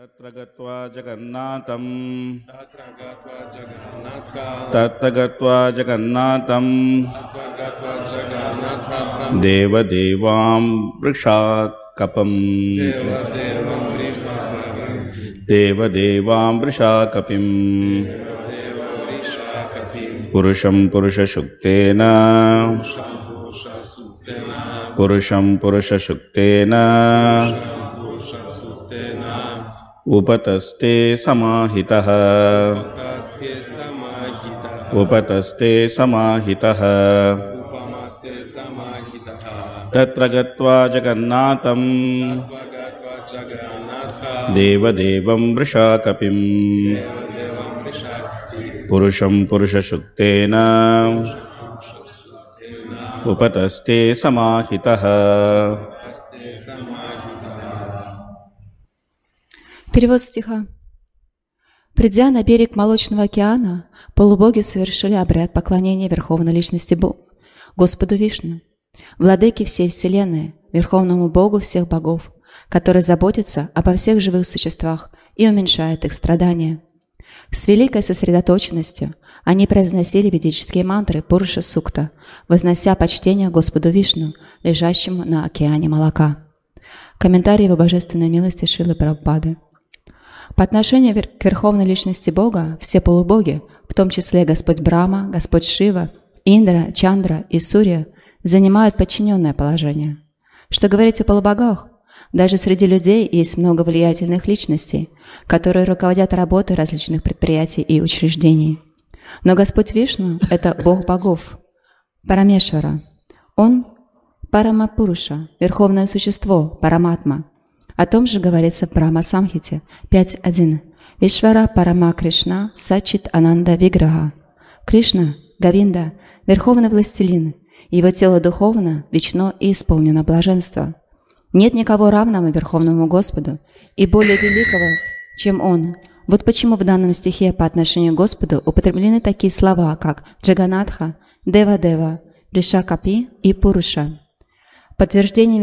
Tatra gatva Jagannatham Deva Devam Vrishakapam Purusham Purusha Shuktena Upataste samahitaha Tatra gatva Jagannatham Deva Devam Vrishakapim Purusham Purusha Shuktena Upataste samahitaha. Перевод стиха. Придя на берег Молочного океана, полубоги совершили обряд поклонения Верховной Личности Господу Вишну, Владыке всей Вселенной, Верховному Богу всех богов, который заботится обо всех живых существах и уменьшает их страдания. С великой сосредоточенностью они произносили ведические мантры Пуруша Сукта, вознося почтение Господу Вишну, лежащему на океане молока. Комментарий его божественной милости Шрилы Прабхупады. По отношению к Верховной Личности Бога, все полубоги, в том числе Господь Брахма, Господь Шива, Индра, Чандра и Сурья, занимают подчиненное положение. Что говорить о полубогах? Даже среди людей есть много влиятельных личностей, которые руководят работой различных предприятий и учреждений. Но Господь Вишну – это Бог богов, Парамешвара. Он – Парамапуруша, Верховное Существо, Параматма. О том же говорится в Брахма-самхите 5.1. Вишвара Парама Кришна Сачит Ананда Виграха. Кришна, Говинда, Верховный Властелин. Его тело духовно, вечно и исполнено блаженства. Нет никого равного Верховному Господу и более великого, чем Он. Вот почему в данном стихе по отношению к Господу употреблены такие слова, как Джаганатха, Дева-Дева, Ришакапи и Пуруша. Подтверждение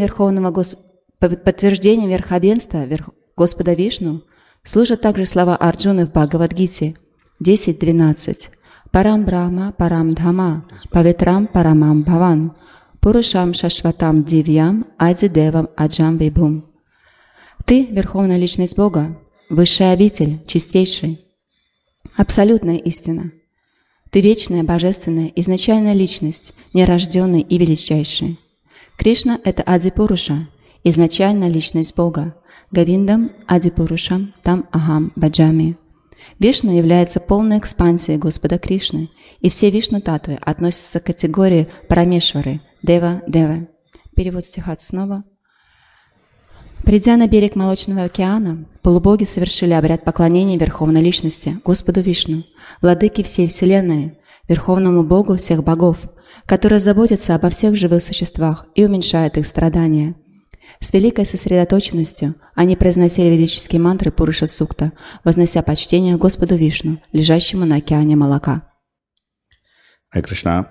верховенства Господа Вишну служат также слова Арджуны в Бхагавад-гите 10.12. Парам Брахма, Парам Дхама, Павитрам Парамам Бхаван, Пурушам Шашватам Дивьям, Ади Девам Аджам Вибхум. Ты, Верховная Личность Бога, Высшая обитель, чистейший, абсолютная истина. Ты вечная, божественная, изначальная личность, нерожденный и величайший. Кришна – это Ади-Пуруша, изначальная личность Бога. Говиндам Ади-Пурушам Там Ахам Баджами. Вишну является полной экспансией Господа Кришны, и все Вишну-татвы относятся к категории Парамешвары, Дева-Девы. Перевод стиха снова. Придя на берег Молочного океана, полубоги совершили обряд поклонения Верховной Личности, Господу Вишну, Владыке всей Вселенной, Верховному Богу всех богов, который заботится обо всех живых существах и уменьшает их страдания. С великой сосредоточенностью они произносили ведические мантры Пуруша Сукта, вознося почтение Господу Вишну, лежащему на океане молока. Hare Krishna.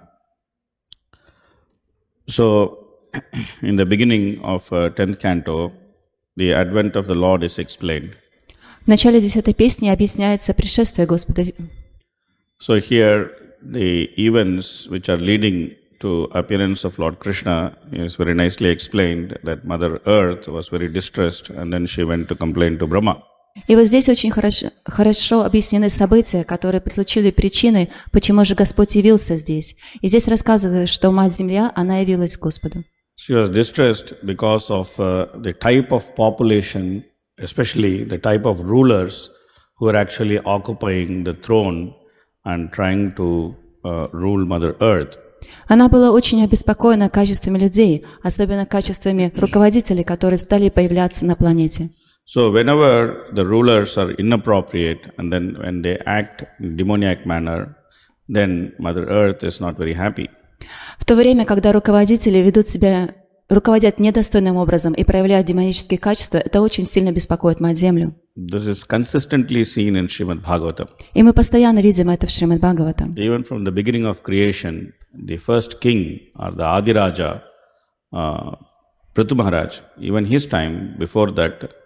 So, in the beginning of 10th canto, the advent of the Lord is explained. В начале 10-й песни объясняется пришествие Господа. So here the events which are leading to appearance of Lord Krishna is very nicely explained, that Mother Earth was very distressed and then she went to complain to Brahma. И вот здесь очень хорошо объяснены события, которые послужили причиной, почему же Господь явился здесь. И здесь рассказывается, что Мать-Земля, она явилась к Господу. She was distressed because of the type of population, especially the type of rulers who are actually occupying the throne and trying to rule Mother Earth. Она была очень обеспокоена качествами людей, особенно качествами руководителей, которые стали появляться на планете. So whenever the rulers are inappropriate and then when they act in demoniac manner, then Mother Earth is not very happy. В то время, когда руководители руководят недостойным образом и проявляют демонические качества, это очень сильно беспокоит Мать-Землю. This is consistently seen in Srimad Bhagavatam. И мы постоянно видим это в Шримад Бхагаватам. Even from the beginning of creation, the first king or the Adiraja, Prithu Maharaj, even his time, before that,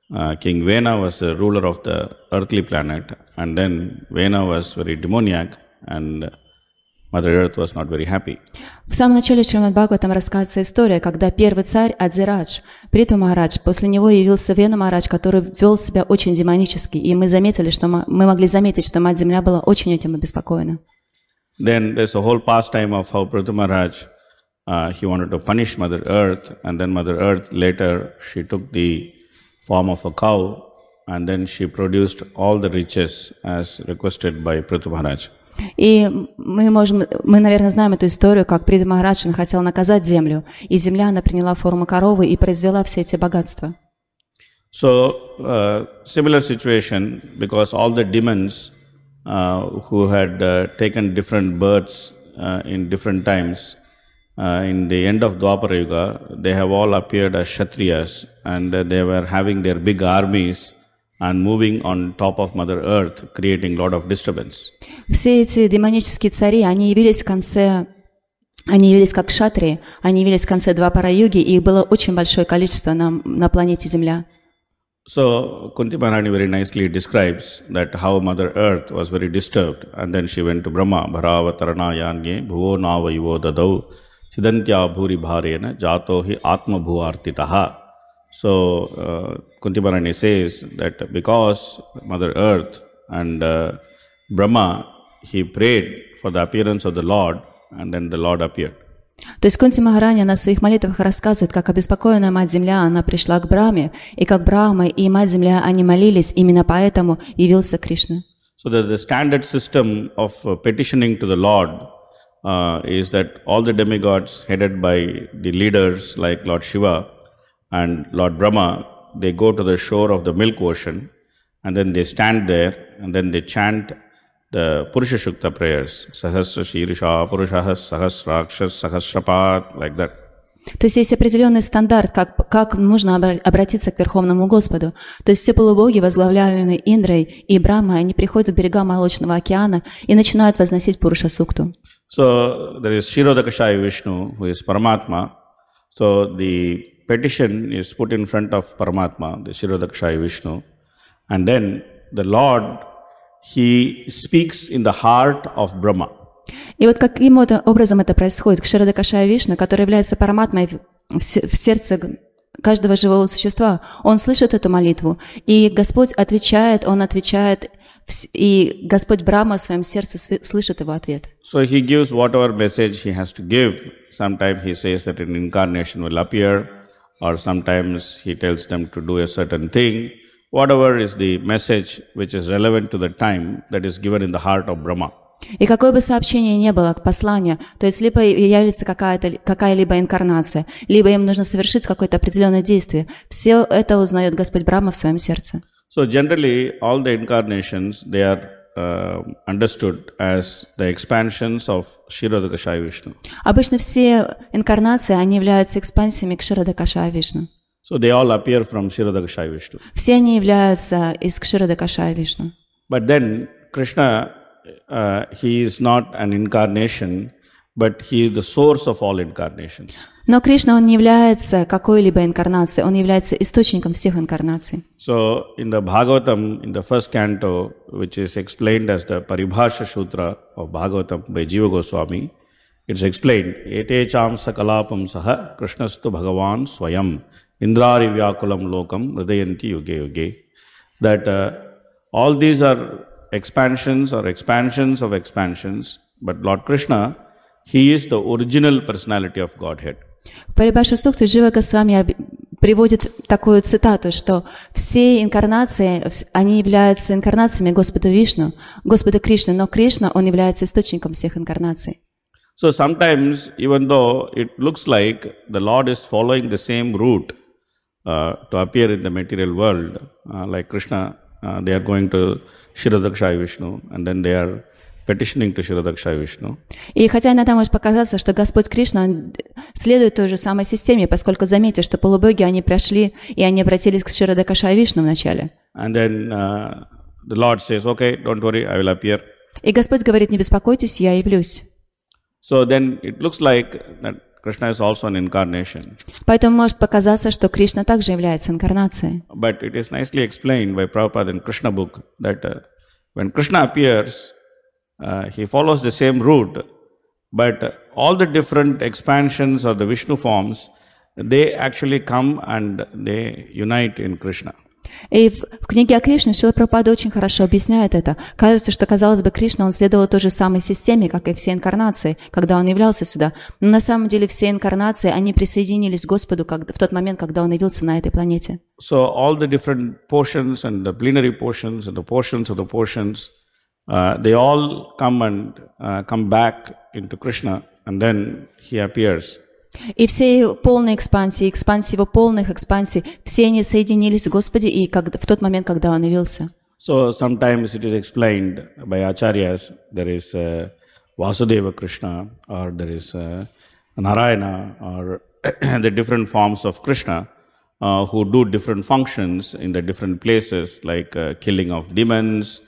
King Vena was the ruler of the earthly planet, and then Vena was very demoniac, and Mother Earth was not very happy. В самом начале Шримад Бхагаватам рассказывается история, когда первый царь Адзирадж, Приту Махарадж, после него явился Вену Махарадж, который вел себя очень демонически, и мы могли заметить, что Мать Земля была очень этим обеспокоена. Then there's a whole pastime of how Prithu Maharaj, he wanted to punish Mother Earth, and then Mother Earth later, she took the form of a cow, and then she produced all the riches as requested by Prithu Maharaj. И мы, наверное, знаем эту историю, как Приту Махарадж хотел наказать землю, и земля, она приняла форму коровы и произвела все эти богатства. So, similar situation, because all the demons who had taken different births in different times, in the end of Dwapara Yuga, they have all appeared as Kshatriyas, and they were having their big armies and moving on top of Mother Earth, creating a lot of disturbance. Все эти демонические цари, они явились как кшатрии, они явились в конце Двапара-юги, и их было очень большое количество на планете Земля. So, Kunti Maharani very nicely describes that how Mother Earth was very disturbed, and then she went to Brahma, Bharavatarana Yanye, Bhuvo Nava Ivo Dadau, Sidantya Bhuri Bharena, Jato Hi Atma Bhuartitaha. So, Kunti Maharani says that because Mother Earth and Brahma, he prayed for the appearance of the Lord, and then the Lord appeared. То есть Кунти Махарани, она в своих молитвах рассказывает, как обеспокоенная Мать Земля, она пришла к Брахме, и как Брахма и Мать Земля, они молились, именно поэтому явился Кришна. So the standard system of petitioning to the Lord is that all the demigods headed by the leaders like Lord Shiva and Lord Brahma, they go to the shore of the milk ocean, and then they stand there, and then they chant the Purusha Shukta prayers, Sahasra Shirisha, Purushahas, Sahasrakshas, Sahasrapat, like that. То есть есть определенный стандарт, как нужно обратиться к Верховному Господу. То есть все полубоги, возглавляемые Индрой и Брахмой, они приходят к берегам Молочного океана и начинают возносить Пуруша Сукту. So there is Kshirodakashaya Vishnu, who is Paramatma. So the petition is put in front of Paramatma, the Kshirodakashaya Vishnu. And then the Lord, he speaks in the heart of Brahma. И вот каким образом это происходит? Кширадакашая Вишну, который является параматмой в сердце каждого живого существа, он слышит эту молитву, и Господь отвечает, он отвечает, и Господь Брахма в своем сердце слышит его ответ. So he gives whatever message he has to give. Sometimes he says that an incarnation will appear, or sometimes he tells them to do a certain thing. Whatever is the message which is relevant to the time, that is given in the heart of Brahma. И какое бы сообщение ни было, послание, то есть либо явится какая-либо инкарнация, либо им нужно совершить какое-то определенное действие, все это узнает Господь Брахма в своем сердце. So generally, all the incarnations, they are understood as the expansions of Kshirodakashaya Vishnu. Обычно все инкарнации, они являются экспансиями Кширадакашая Вишну. So they all appear from Kshirodakashaya Vishnu. Все они являются из Кширадакашая Вишну. But then Krishna, he is not an incarnation, but he is the source of all incarnations. Но Кришна, он не является какой-либо инкарнацией, он является источником всех инкарнаций. So in the Bhagavatam, in the first canto, which is explained as the Paribhasha Sutra of Bhagavatam by Jiva Goswami, it's explained, Ete cham sakalapam saha Krishnastu Bhagavan Swayam Indrari Vyakulam Lokam Hridayanti Yuge Yuge. That all these are expansions or expansions of expansions, but Lord Krishna, he is the original personality of Godhead. В Парибхаша Сукте Джива Госвами приводит такую цитату, что все инкарнации, они являются инкарнациями Господа Вишну, Господа Кришны, но Кришна, он является источником всех инкарнаций. So sometimes, even though it looks like the Lord is following the same route to appear in the material world, like Krishna, they are going to Kshirodakashaya Vishnu, and then they are petitioning to Kshirodakashaya Vishnu. И хотя иногда может показаться, что Господь Кришна, он следует той же самой системе, поскольку заметьте, что полубоги, они прошли, и они обратились к Kshirodakashaya Vishnu вначале. And then the Lord says, okay, don't worry, I will appear. И Господь говорит, не беспокойтесь, я явлюсь. So then it looks like that Krishna is also an incarnation. Поэтому может показаться, что Кришна также является инкарнацией. But it is nicely explained by Prabhupada in Krishna book that when Krishna appears, he follows the same route, but all the different expansions of the Vishnu forms, they actually come and they unite in Krishna. И в книге о Кришне Шрила Прабхупада очень хорошо объясняет это. Кажется, что, казалось бы, Кришна, он следовал той же самой системе, как и все инкарнации, когда он являлся сюда. Но на самом деле все инкарнации, они присоединились к Господу в тот момент, когда он явился на этой планете. So all the different portions and the plenary portions and the portions of the portions, they all come back into Krishna, and then he appears. И все полные экспансии, экспансии его полных экспансий, все они соединились в Господе и в тот момент, когда он явился. So sometimes it is explained by acharyas, there is Vasudeva Krishna, or there is Narayana, or the different forms of Krishna who do different functions in the different places, like killing of demons,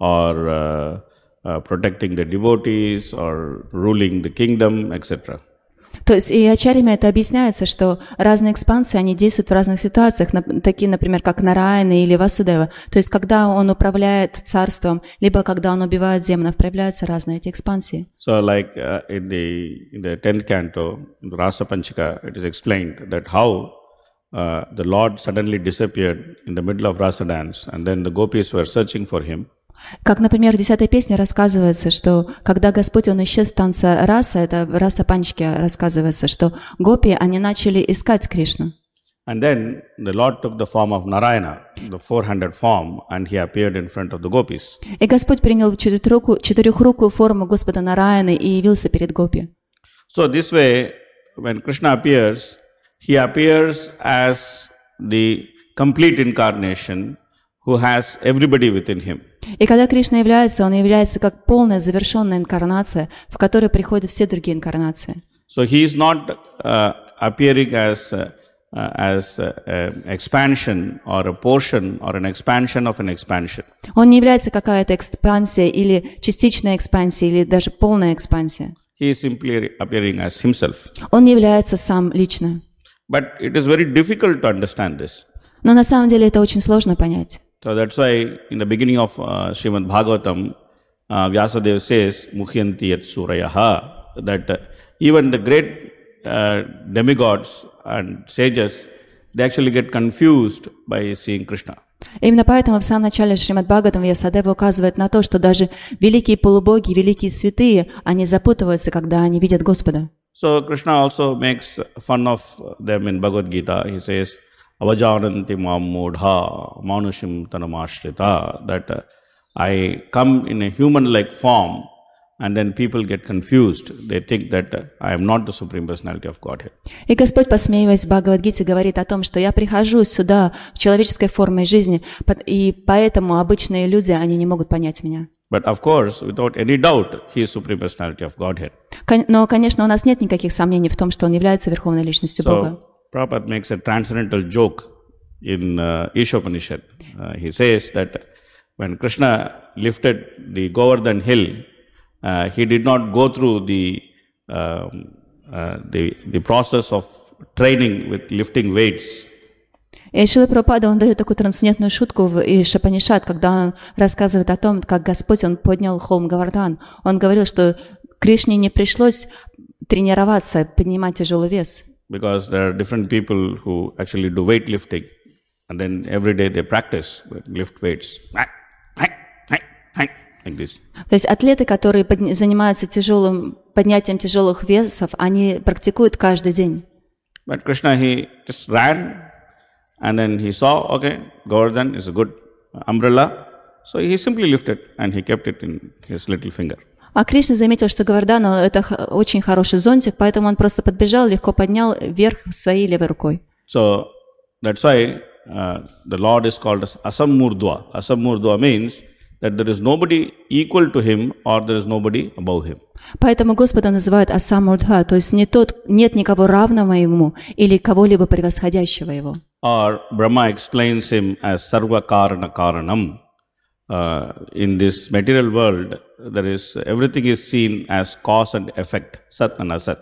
or protecting the devotees, or ruling the kingdom, etc. То есть и ачарьями это объясняется, что разные экспансии, они действуют в разных ситуациях, такие, например, как Нараяна или Васудева. То есть когда он управляет царством, либо когда он убивает демонов, проявляются разные эти экспансии. So like in the 10th canto, Rasa Panchika, it is explained that how the Lord suddenly disappeared in the middle of Rasa dance, and then the gopis were searching for him. Как, например, в 10-й песне рассказывается, что когда Господь, он исчез с танца раса, это раса Панчки рассказывается, что гопи, они начали искать Кришну. And then the Lord took the form of Narayana, the 400 form, and he appeared in front of the gopis. И Господь принял четырехрукую форму Господа Нараяны и явился перед гопи. So this way, when Krishna appears, he appears as the complete incarnation who has everybody within him. И когда Кришна является, он является как полная завершенная инкарнация, в которой приходят все другие инкарнации. So he is not appearing as expansion or a portion or an expansion of an expansion. Он не является какая-то экспансия или частичная экспансия или даже полная экспансия. He is simply appearing as himself. Он не является сам лично. But it is very difficult to understand this. Но на самом деле это очень сложно понять. So that's why in the beginning of Srimad Bhagavatam, Vyasadeva says, Mukhyanti yat surayaha, that even the great demigods and sages, they actually get confused by seeing Krishna. Именно поэтому в самом начале Шримад Бхагаватам Вьясадева указывает на то, что даже великие полубоги, великие святые, они запутываются, когда они видят Господа. So Krishna also makes fun of them in Bhagavad Gita. He says, Avajananti Mammudha Manushim Tanamashrita, that I come in a human-like form, and then people get confused. They think that I am not the Supreme Personality of Godhead. И Господь, посмеиваясь в Бхагавад-гите, говорит о том, что я прихожу сюда в человеческой форме жизни, и поэтому обычные люди, они не могут понять меня. But of course, without any doubt, he is Supreme Personality of Godhead. Но, конечно, у нас нет никаких сомнений в том, что он является Верховной Личностью Бога. Prabhupada makes a transcendental joke in Ishopanishad. He says that when Krishna lifted the Govardhan hill, he did not go through the process of training with lifting weights. И Шрила Прабхупада, он дает такую трансцендентную шутку в Ишопанишад, когда он рассказывает о том, как Господь, он поднял холм Говардхан. Он говорил, что Кришне не пришлось тренироваться, поднимать тяжелый вес. Because there are different people who actually do weightlifting, and then every day they practice lift weights, like this. То есть атлеты, которые занимаются поднятием тяжелых весов, они практикуют каждый день. But Krishna, he just ran, and then he saw, okay, Govardhan is a good umbrella, so he simply lifted and he kept it in his little finger. А Кришна заметил, что Говардхан – это очень хороший зонтик, поэтому он просто подбежал, легко поднял вверх своей левой рукой. So that's why the Lord is called as Asamurdva. Asamurdva means that there is nobody equal to him or there is nobody above him. Поэтому Господа называют Асамурдха, то есть нет никого равного ему или кого-либо превосходящего его. Or Brahma explains him as Sarva Karana Karanam. In this material world, everything is seen as cause and effect, Sat and Asat.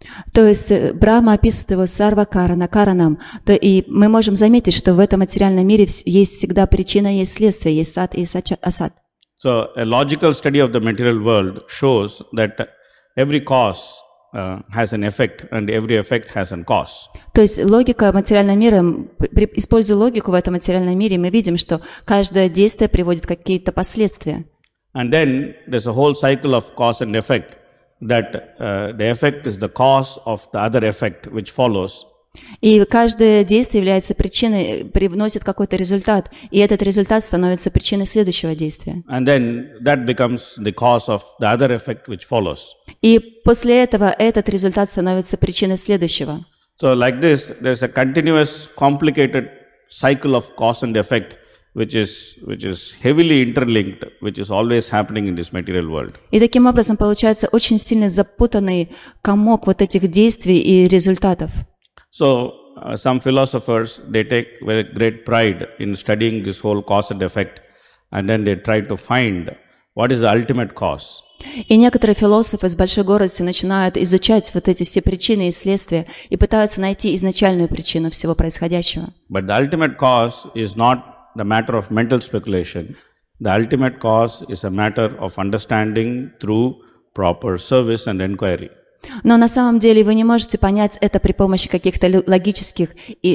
То есть Брахма описывает его сарвакарана, каранам, и мы можем заметить, что в этом материальном мире есть всегда причина, есть следствие, есть сад и асад. So a logical study of the material world shows that every cause has an effect and every effect has a cause. То есть логика материального мира, используя логику в этом материальном мире, мы видим, что каждое действие приводит к какие-то последствия. And then there's a whole cycle of cause and effect, that the effect is the cause of the other effect which follows. И каждое действие является причиной, привносит какой-то результат, и этот результат становится причиной следующего действия. And then that becomes the cause of the other effect which follows. И после этого этот результат становится причиной следующего. So like this, there's a continuous, complicated cycle of cause and effect which is heavily interlinked, which is always happening in this material world. И таким образом получается очень сильно запутанный комок вот этих действий и результатов. So some philosophers, they take very great pride in studying this whole cause and effect, and then they try to find what is the ultimate cause. И некоторые философы с большой гордостью начинают изучать вот эти все причины и следствия и пытаются найти изначальную причину всего происходящего. But the ultimate cause is not the matter of mental speculation. The ultimate cause is a matter of understanding through proper service and inquiry. Но на самом деле вы не можете понять это при помощи каких-то логических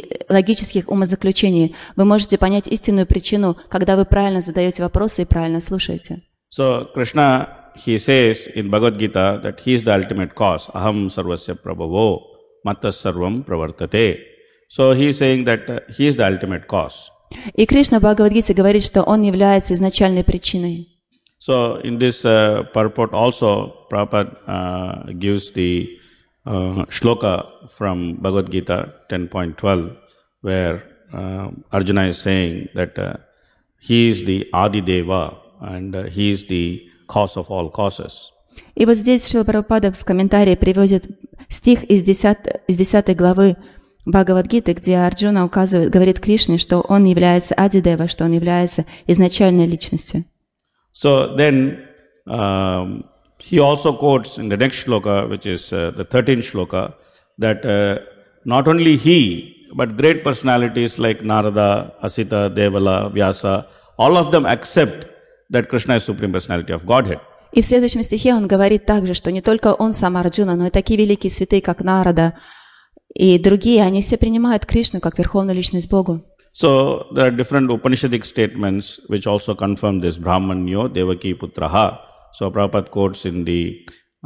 умозаключений. Вы можете понять истинную причину, когда вы правильно задаете вопросы и правильно слушаете. So Krishna, he says in Bhagavad Gita that he is the ultimate cause. Aham sarvasya prabhavo mattas sarvam pravartate. So he is saying that he is the ultimate cause. И Кришна в Бхагавад-гите говорит, что он является изначальной причиной. So in this purport also, Prabhupada gives the shloka from Bhagavad Gita 10.12, where Arjuna is saying that he is the Adi Deva and he is the cause of all causes. И вот здесь Шрила Прабхупада в комментарии приводит стих из 10 главы Бхагавад-гиты, где Арджуна говорит Кришне, что он является Ади-дева, что он является изначальной личностью. So then he also quotes in the next shloka, which is the 13th shloka, that not only he, but great personalities like Narada, Asita, Devala, Vyasa, all of them accept that Krishna is Supreme Personality of Godhead. И в следующем стихе он говорит также, что не только он сам Арджуна, но и такие великие святые, как Нарада и другие, они все принимают Кришну как Верховную Личность Богу. So there are different Upanishadic statements which also confirm this. Brahmanyo Devaki Putraha. So Prabhupada quotes in the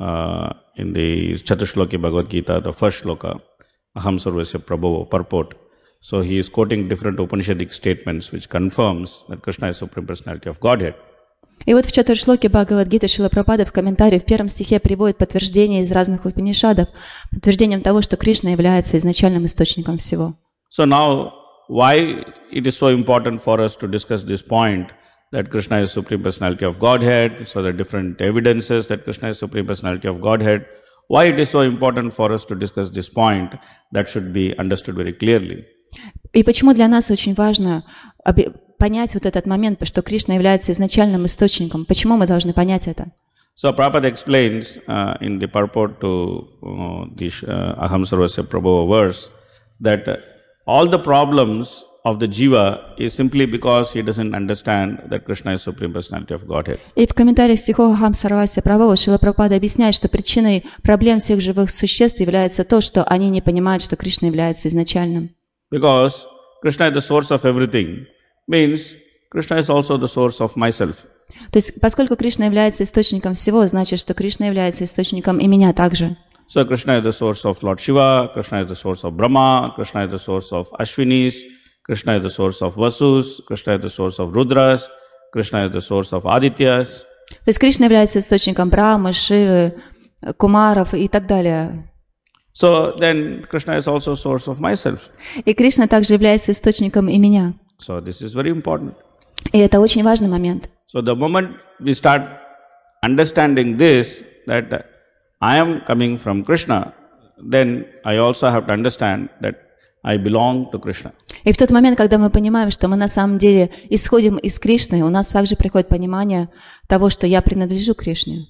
Chatushloki Bhagavad Gita, the first shloka, Aham Sarvasya Prabhavo, purport. So he is quoting different Upanishadic statements which confirms that Krishna is Supreme Personality of Godhead. И вот в Чатуршлоке Бхагавад-гиты Шрила Прабхупада в комментарии в первом стихе приводит подтверждение из разных Упанишадов, подтверждением того, что Кришна является изначальным источником всего. So now, why it is so important for us to discuss this point that Krishna is Supreme Personality of Godhead, so the different evidences that Krishna is Supreme Personality of Godhead, why it is so important for us to discuss this point, that should be understood very clearly. И почему для нас очень важно понять вот этот момент, что Кришна является изначальным источником? Почему мы должны понять это? So Prabhupada explains in the purport to this Aham Sarvasya Prabhava verse that all the problems of the jiva is simply because he doesn't understand that Krishna is Supreme Personality of Godhead. И в комментариях стихов Ахам Сарвасya Прабхава Шрила Прабхупада объясняет, что причиной проблем всех живых существ является то, что они не понимают, что Кришна является изначальным. Because Krishna is the source of everything, means Krishna is also the source of myself. То есть, поскольку Кришна является источником всего, значит, что Кришна является источником и меня также. So Krishna is the source of Lord Shiva, Krishna is the source of Brahma, Krishna is the source of Ashwinis, Krishna is the source of Vasus, Krishna is the source of Rudras, Krishna is the source of Adityas. То есть Кришна является источником Брахмы, Шивы, Кумаров и так далее. So then Krishna is also source of myself. И Кришна также является источником и меня. So this is very important. И это очень важный момент. So the moment we start understanding this, that I am coming from Krishna, then I also have to understand that I belong to Krishna. И в тот момент, когда мы понимаем, что мы на самом деле исходим из Кришны, у нас также приходит понимание того, что я принадлежу Кришне.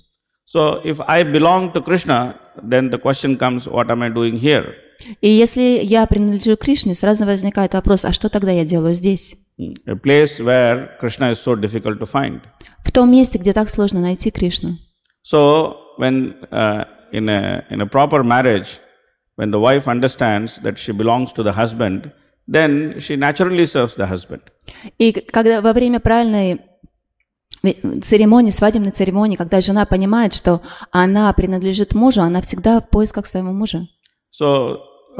So if I belong to Krishna, then the question comes, what am I doing here? И если я принадлежу Кришне, сразу возникает вопрос, а что тогда я делаю здесь? A place where Krishna is so difficult to find. В том месте, где так сложно найти Кришну. So when in a proper marriage, when the wife understands that she belongs to the husband, then she naturally serves the husband. И когда во время правильной церемонии, свадебной церемонии, когда жена понимает, что она принадлежит мужу, она всегда в поисках своего мужа. So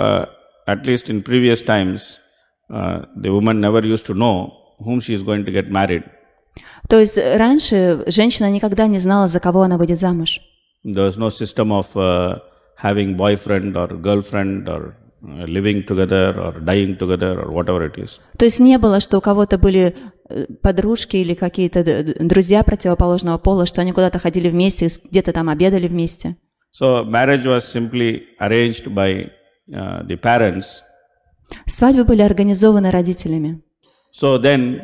at least in previous times, the woman never used to know whom she is going to get married. То есть раньше женщина никогда не знала, за кого она выйдет замуж. There was no system of having boyfriend or girlfriend or living together or dying together or whatever it is. То есть не было, что у кого-то были подружки или какие-то друзья противоположного пола, что они куда-то ходили вместе, где-то там обедали вместе. So marriage was simply arranged by the parents. Свадьбы были организованы родителями. So then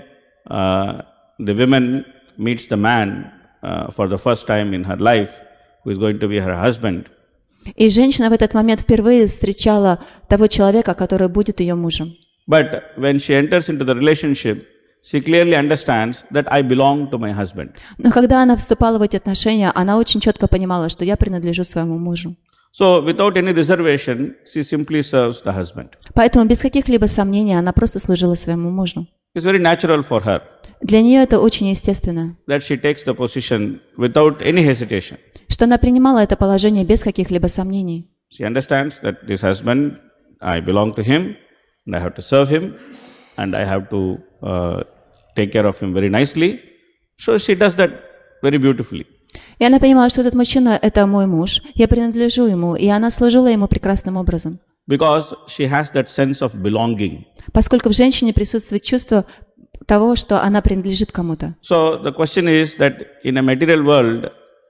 the woman meets the man for the first time in her life, who is going to be her husband. И женщина в этот момент впервые встречала того человека, который будет ее мужем. But when she enters into the relationship, she clearly understands that I belong to my husband. Но когда она вступала в эти отношения, она очень четко понимала, что я принадлежу своему мужу. So without any reservation, she simply serves the husband. Поэтому без каких-либо сомнений она просто служила своему мужу. It's very natural for her Для нее это очень естественно, that she takes the position without any hesitation. что она принимала это положение без каких-либо сомнений. She understands that this husband, I belong to him, and I have to serve him, and I have to take care of him very nicely. So she does that very beautifully. И она понимала, что этот мужчина – это мой муж, я принадлежу ему, и она служила ему прекрасным образом. Because she has that sense of belonging. Поскольку в женщине присутствует чувство того, что она принадлежит кому-то. So the question is that in a material world,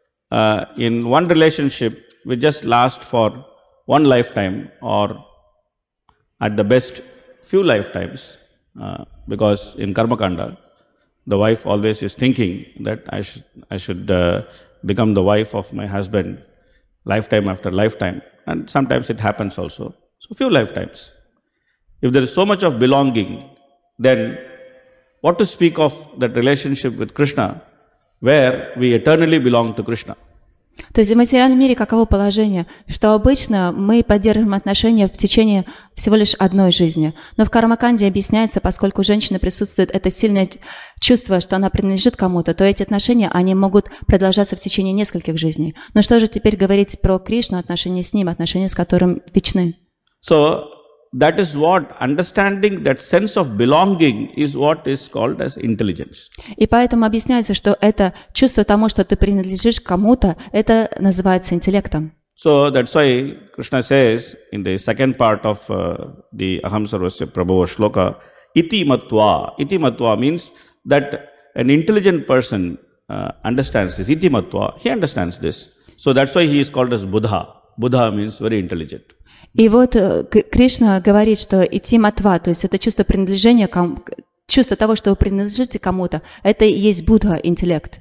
in one relationship, we just last for one lifetime or at the best few lifetimes. Because in Karma Kanda, the wife always is thinking that I should become the wife of my husband lifetime after lifetime. And sometimes it happens also. So few lifetimes. If there is so much of belonging, then what to speak of that relationship with Krishna, where we eternally belong to Krishna? То есть в материальном мире каково положение, что обычно мы поддерживаем отношения в течение всего лишь одной жизни. Но в Кармаканде объясняется, поскольку у женщины присутствует это сильное чувство, что она принадлежит кому-то, то эти отношения, они могут продолжаться в течение нескольких жизней. Но что же теперь говорить про Кришну, отношения с ним, отношения с которым вечны? So that is what understanding that sense of belonging is what is called as intelligence. И поэтому объясняется, что это чувство тому, что ты принадлежишь кому-то, это называется интеллектом. So that's why Krishna says in the second part of the Aham Sarvasya Prabhava Shloka, Iti Matva. Iti Matva means that an intelligent person understands this. Iti Matva, he understands this. So that's why he is called as Buddha. Buddha means very intelligent. И вот Кришна говорит, что ити матва, то есть это чувство принадлежения, чувство того, что вы принадлежите кому-то, это и есть Будда, интеллект.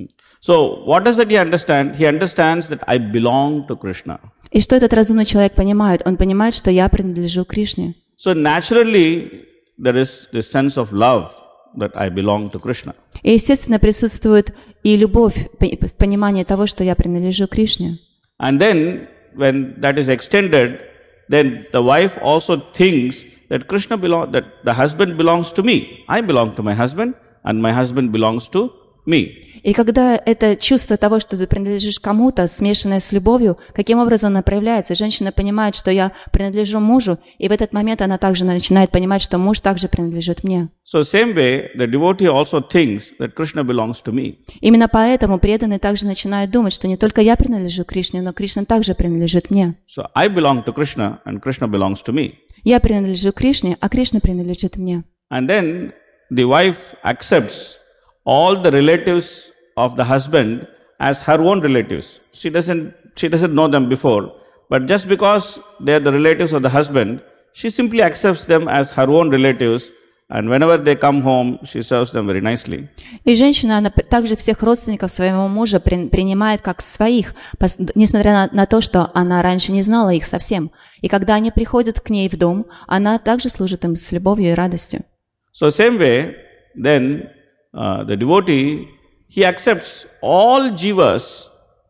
So what does that he understand? He understands that I belong to Krishna. И что этот разумный человек понимает? Он понимает, что я принадлежу Кришне. So naturally there is this sense of love that I belong to Krishna. И естественно присутствует и любовь, понимание того, что я принадлежу Кришне. And then when that is extended, then the wife also thinks that that the husband belongs to me. I belong to my husband, and my husband belongs to me. И когда это чувство того, что ты принадлежишь кому-то, смешанное с любовью, каким образом оно проявляется? Женщина понимает, что я принадлежу мужу, и в этот момент она также начинает понимать, что муж также принадлежит мне. So same way, the devotee also thinks that Krishna belongs to me. Именно поэтому преданный также начинает думать, что не только я принадлежу Кришне, но Кришна также принадлежит мне. So I belong to Krishna, and Krishna belongs to me. Я принадлежу Кришне, а Кришна принадлежит мне. And then the wife accepts all the relatives of the husband as her own relatives. She doesn't know them before, but just because they are the relatives of the husband, she simply accepts them as her own relatives and whenever they come home, she serves them very nicely. И женщина, она также всех родственников своего мужа принимает как своих, несмотря на то, что она раньше не знала их совсем. И когда они приходят к ней в дом, она также служит им с любовью и радостью. So same way, then the devotee, he accepts all jivas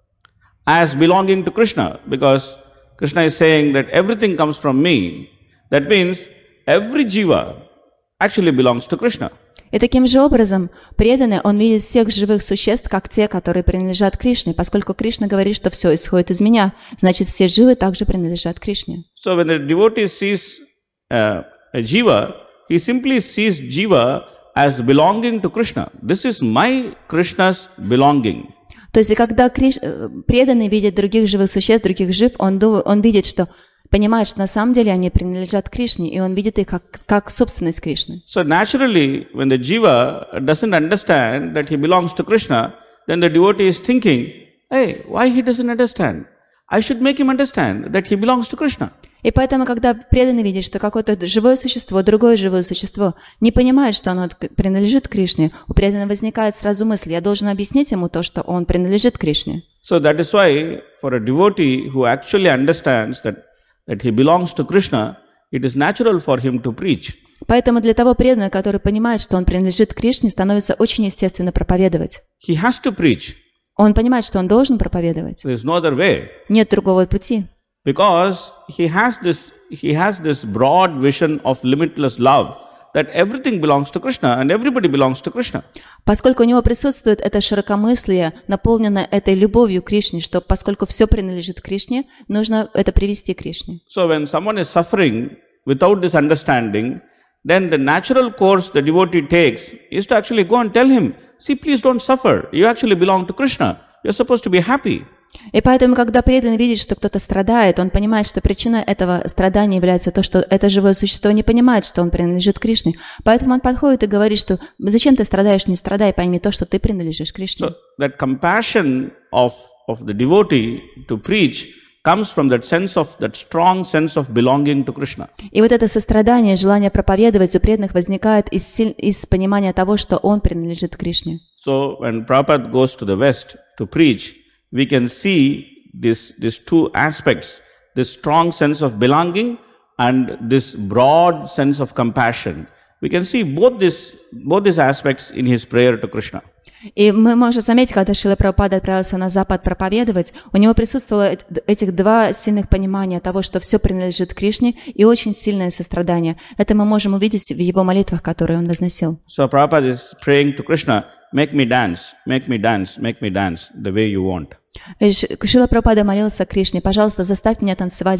as belonging to Krishna, because Krishna is saying that everything comes from me. That means every jiva actually belongs to Krishna. И таким же образом преданный, он видит всех живых существ, как те, которые принадлежат Кришне. Поскольку Кришна говорит, что все исходит из меня, значит, все живы также принадлежат Кришне. So when the devotee sees a jiva, he simply sees jiva as belonging to Krishna. This is my Krishna's belonging. То есть, и когда преданный видит других живых существ, других жив, он видит, что понимает, что на самом деле они принадлежат Кришне, и он видит их как собственность Кришны. So naturally, when the jiva doesn't understand that he belongs to Krishna, then the devotee is thinking, hey, why he doesn't understand? I should make him understand that he belongs to Krishna. И поэтому, когда преданный видит, что какое-то живое существо, другое живое существо не понимает, что оно принадлежит Кришне, у преданного возникает сразу мысль, я должен объяснить ему то, что он принадлежит Кришне. So that is why for a devotee who actually understands that he belongs to Krishna, it is natural for him to preach. Поэтому для того преданного, который понимает, что он принадлежит Кришне, становится очень естественно проповедовать. He has to preach. Он понимает, что он должен проповедовать. There is no other way. Нет другого пути. Because he has this broad vision of limitless love, that everything belongs to Krishna and everybody belongs to Krishna. Поскольку у него присутствует это широкомыслие, наполненное этой любовью к Кришне, что поскольку все принадлежит Кришне, нужно это привести к Кришне. So when someone is suffering without this understanding, then the natural course the devotee takes is to actually go and tell him, see, please don't suffer. You actually belong to Krishna. You're supposed to be happy. И поэтому, когда преданный видит, что кто-то страдает, он понимает, что причиной этого страдания является то, что это живое существо не понимает, что он принадлежит Кришне. Поэтому он подходит и говорит, что зачем ты страдаешь, не страдай, пойми то, что ты принадлежишь Кришне. So that compassion of the devotee to preach comes from that strong sense of belonging to Krishna. И вот это сострадание, желание проповедовать у преданных возникает из понимания того, что он принадлежит Кришне. So when Prabhupada goes to the West to preach, we can see these two aspects, this strong sense of belonging and this broad sense of compassion. We can see both these aspects in his prayer to Krishna. И мы можем заметить, когда Шрила Прабхупада отправился на Запад проповедовать, у него присутствовало этих два сильных понимания того, что все принадлежит Кришне, и очень сильное сострадание. Это мы можем увидеть в его молитвах, которые он возносил. So Prabhupada is praying to Krishna, make me dance, make me dance, make me dance the way you want. Шрила Прабхупада молился Кришне, пожалуйста, заставь меня танцевать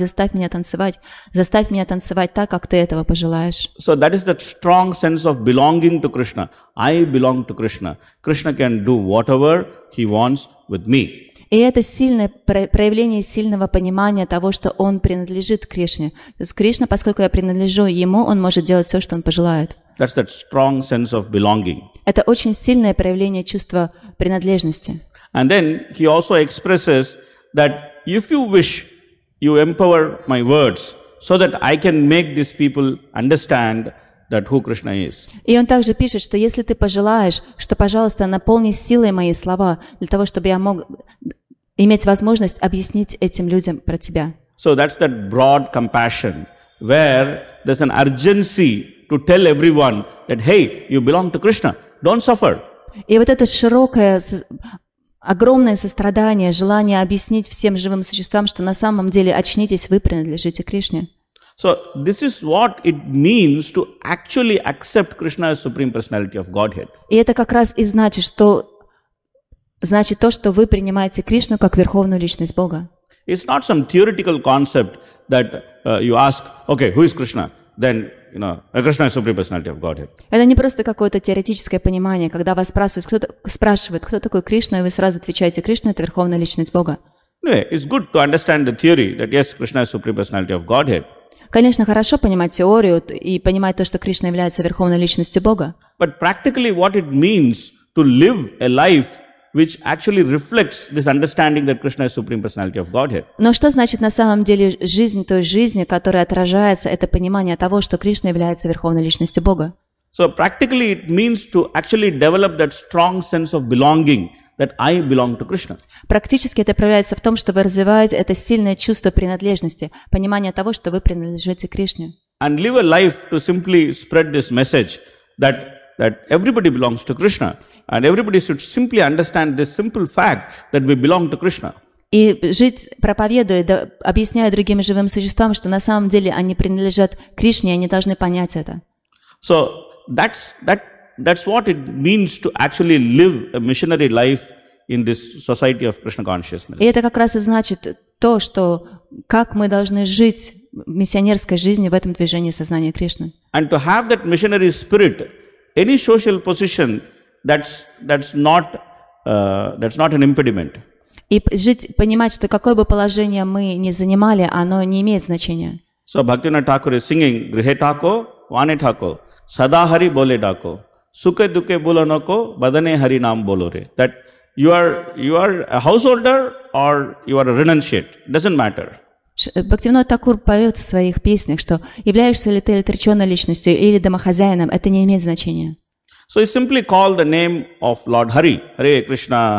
так, как ты этого пожелаешь. So that is that strong sense of belonging to Krishna. I belong to Krishna. Krishna can do whatever he wants with me. И это сильное проявление сильного понимания того, что он принадлежит Кришне. То есть Кришна, поскольку я принадлежу ему, он может делать все, что он пожелает. That's that strong sense of belonging. Это очень сильное проявление чувства принадлежности. And then he also expresses that if you wish, you empower my words so that I can make these people understand that who Krishna is. И он также пишет, что если ты пожелаешь, что, пожалуйста, наполни силой мои слова, для того, чтобы я мог иметь возможность объяснить этим людям про тебя. So that's that broad compassion where there's an urgency to tell everyone that, hey, you belong to Krishna, don't suffer. И вот это широкое, огромное сострадание, желание объяснить всем живым существам, что на самом деле очнитесь, вы принадлежите Кришне. So this is what it means to actually accept Krishna as Supreme Personality of Godhead. И это как раз и значит то, что вы принимаете Кришну как Верховную Личность Бога. It's not some theoretical concept that you ask, okay, who is Krishna? Then, Krishna is Supreme Personality of Godhead. Это не просто какое-то теоретическое понимание, когда вас спрашивают, кто такой Кришна, и вы сразу отвечаете, Кришна — это Верховная Личность Бога. Anyway, it's good to understand the theory that yes, Krishna is Supreme Personality of Godhead. Конечно, хорошо понимать теорию и понимать то, что Кришна является Верховной Личностью Бога. But practically what it means to live a life which actually reflects this understanding that Krishna is Supreme Personality of Godhead. Но что значит на самом деле жизнь той жизни, которая отражается, это понимание того, что Кришна является Верховной Личностью Бога? So practically it means to actually develop that strong sense of belonging that I belong to Krishna. Практически это проявляется в том, что вы развиваете это сильное чувство принадлежности, понимание того, что вы принадлежите Кришне. And live a life to simply spread this message that everybody belongs to Krishna. And everybody should simply understand this simple fact that we belong to Krishna. И жить, проповедуя, объясняя другим живым существам, что на самом деле они принадлежат Кришне, и они должны понять это. So that's what it means to actually live a missionary life in this society of Krishna consciousness. И это как раз и значит то, что как мы должны жить миссионерской жизнью в этом движении сознания Кришны. And to have that missionary spirit, any social position, that's not an impediment. И жить, понимать, что какое бы положение мы ни занимали, оно не имеет значения. So Bhaktivinoda Thakur is singing, Grihe Thako, Vane Thako, Sada Hari Bole Dako, Sukhe Dukhe Bulanoko, Badane Hari Naam Bolore. That you are a householder or you are a renunciate, doesn't matter. Бхактивинода Такур поет в своих песнях, что являешься ли ты отреченной личностью или домохозяином, это не имеет значения. So he simply called the name of Lord Hari, Hare Krishna,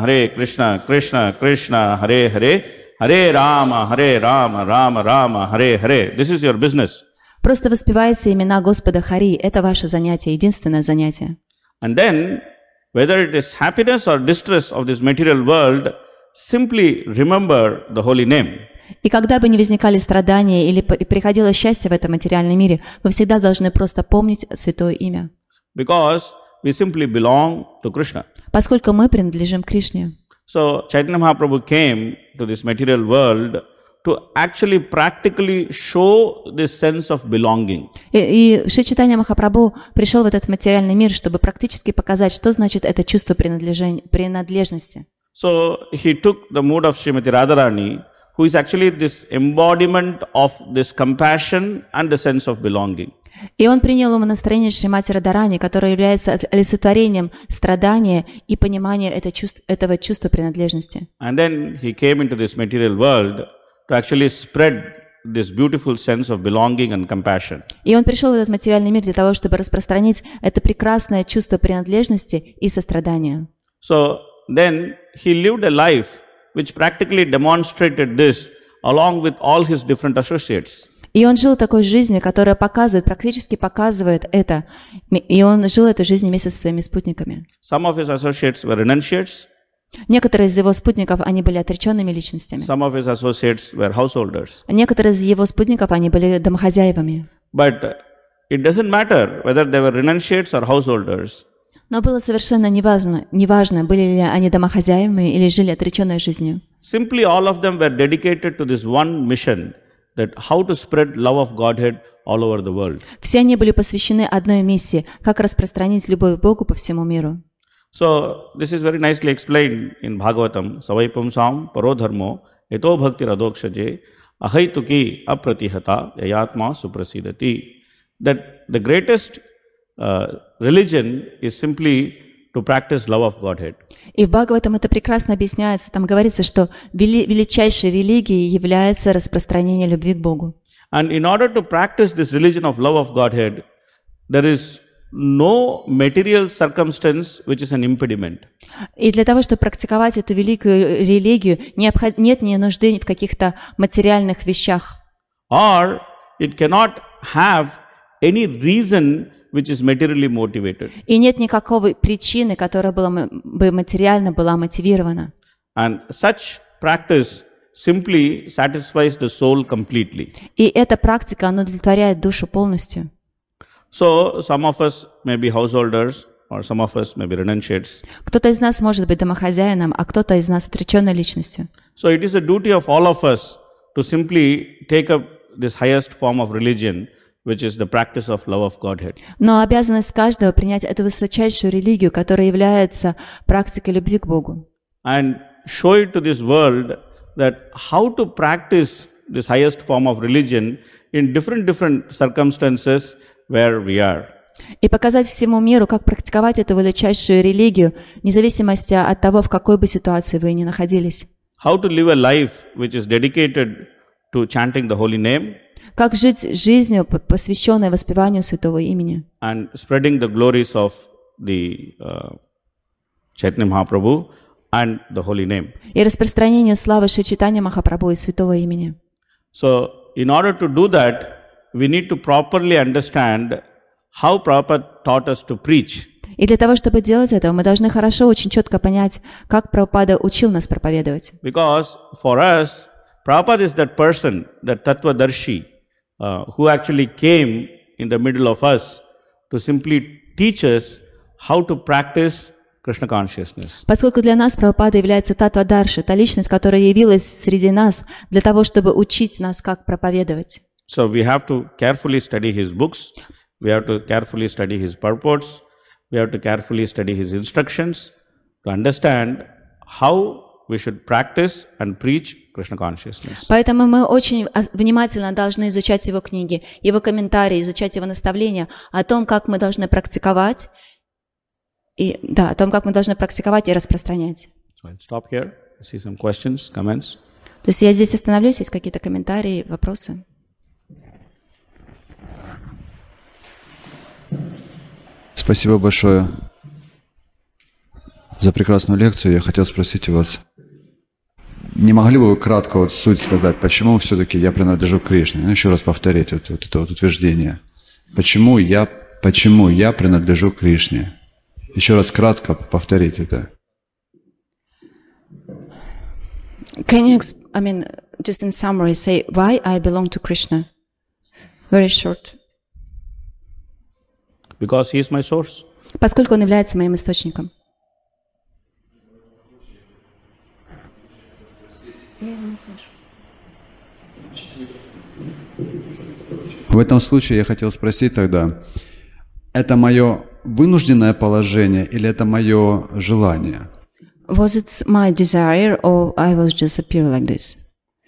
Krishna Krishna, Hare Hare, Hare Rama, Rama Rama, Hare Hare. This is your business. Просто воспевайте имена Господа Хари, это ваше занятие, единственное занятие. And then, whether it is happiness or distress of this material world, simply remember the holy name. И когда бы ни возникали страдания или приходило счастье в этом материальном мире, вы всегда должны просто помнить святое имя. Because we simply belong to Krishna. Поскольку мы принадлежим Кришне. So Chaitanya Mahaprabhu came to this material world to actually practically show this sense of belonging. И Шри Чайтанья Махапрабху пришел в этот материальный мир, чтобы практически показать, что значит это чувство принадлежности. So he took the mood of Srimati Radharani, who is actually this embodiment of this compassion and the sense of belonging. И он принял умонастроение Шримати Радхарани, которое является олицетворением страдания и понимания этого чувства принадлежности. And then he came into this material world to actually spread this beautiful sense of belonging and compassion. И он пришел в этот материальный мир для того, чтобы распространить это прекрасное чувство принадлежности и сострадания. So then he lived a life which practically demonstrated this along with all his different associates. И он жил такой жизнью, которая практически показывает это. И он жил этой жизнью вместе со своими спутниками. Some of his associates were renunciates. Некоторые из его спутников, они были отреченными личностями. Some of his associates were householders. Некоторые из его спутников, они были домохозяевами. But it doesn't matter whether they were renunciates or householders. Но было совершенно неважно, были ли они домохозяевами или жили отреченной жизнью. Simply all of them were dedicated to this one mission, that how to spread love of Godhead all over the world. Все они были посвящены одной миссии, как распространить любовь к Богу по всему миру. So this is very nicely explained in Bhagavatam. Savai pumsam parodharmo eto bhakti radokshaje ahaituki apratihata yayatma suprasidati. That the greatest religion is simply to practice love of Godhead. И в Бхагаватам это прекрасно объясняется. Там говорится, что величайшей религией является распространение любви к Богу. And in order to practice this religion of love of Godhead, there is no material circumstance which is an impediment. И для того, чтобы практиковать эту великую религию, нет ни нужды в каких-то материальных вещах. Or it cannot have any reason which is materially motivated. И нет никакой причины, которая бы материально была мотивирована. And such practice simply satisfies the soul completely. И эта практика, она удовлетворяет душу полностью. So some of us may be householders, or some of us may be renunciates. Кто-то из нас может быть домохозяином, а кто-то из нас отреченной личностью. So it is a duty of all of us to simply take up this highest form of religion, which is the practice of love of Godhead. Но обязанность каждого принять эту высочайшую религию, которая является практикой любви к Богу. And show it to this world that how to practice this highest form of religion in different circumstances where we are. И показать всему миру, как практиковать эту величайшую религию, вне зависимости от того, в какой бы ситуации вы ни находились. How to live a life which is dedicated to chanting the holy name. Как жить жизнью, посвященной воспеванию святого имени. and spreading the glories of the Chaitanya Mahaprabhu and the holy name. И распространению славы Шри Чайтанья Махапрабху и святого имени. So, in order to do that, we need to properly understand how Prabhupada taught us to preach. И для того, чтобы делать это, мы должны хорошо, очень четко понять, как Прабхупада учил нас проповедовать. Because for us, Prabhupada is that person, that Tattvadarshi, who actually came in the middle of us to simply teach us how to practice Krishna consciousness. Поскольку для нас Прабхупада является Таттвадарши, та личность, которая явилась среди нас для того, чтобы учить нас, как проповедовать. So we have to carefully study his books, we have to carefully study his purports, we have to carefully study his instructions to understand how we should practice and preach Krishna consciousness. Поэтому мы очень внимательно должны изучать его книги, его комментарии, изучать его наставления о том, как мы должны практиковать, и распространять. So I'll stop here. I see some questions, comments. То есть я здесь остановлюсь, есть какие-то комментарии, вопросы? Спасибо большое за прекрасную лекцию. Я хотел спросить у вас, не могли бы вы кратко вот суть сказать, почему все-таки я принадлежу к Кришне? Ну, еще раз повторить вот это вот утверждение. Почему я принадлежу к Кришне? Еще раз кратко повторить это. Can you, just in summary, say why I belong to Krishna? Very short. Because he is my source. Поскольку он является моим источником. В этом случае я хотел спросить тогда, это мое вынужденное положение или это мое желание? Was it my desire or I was just appear like this?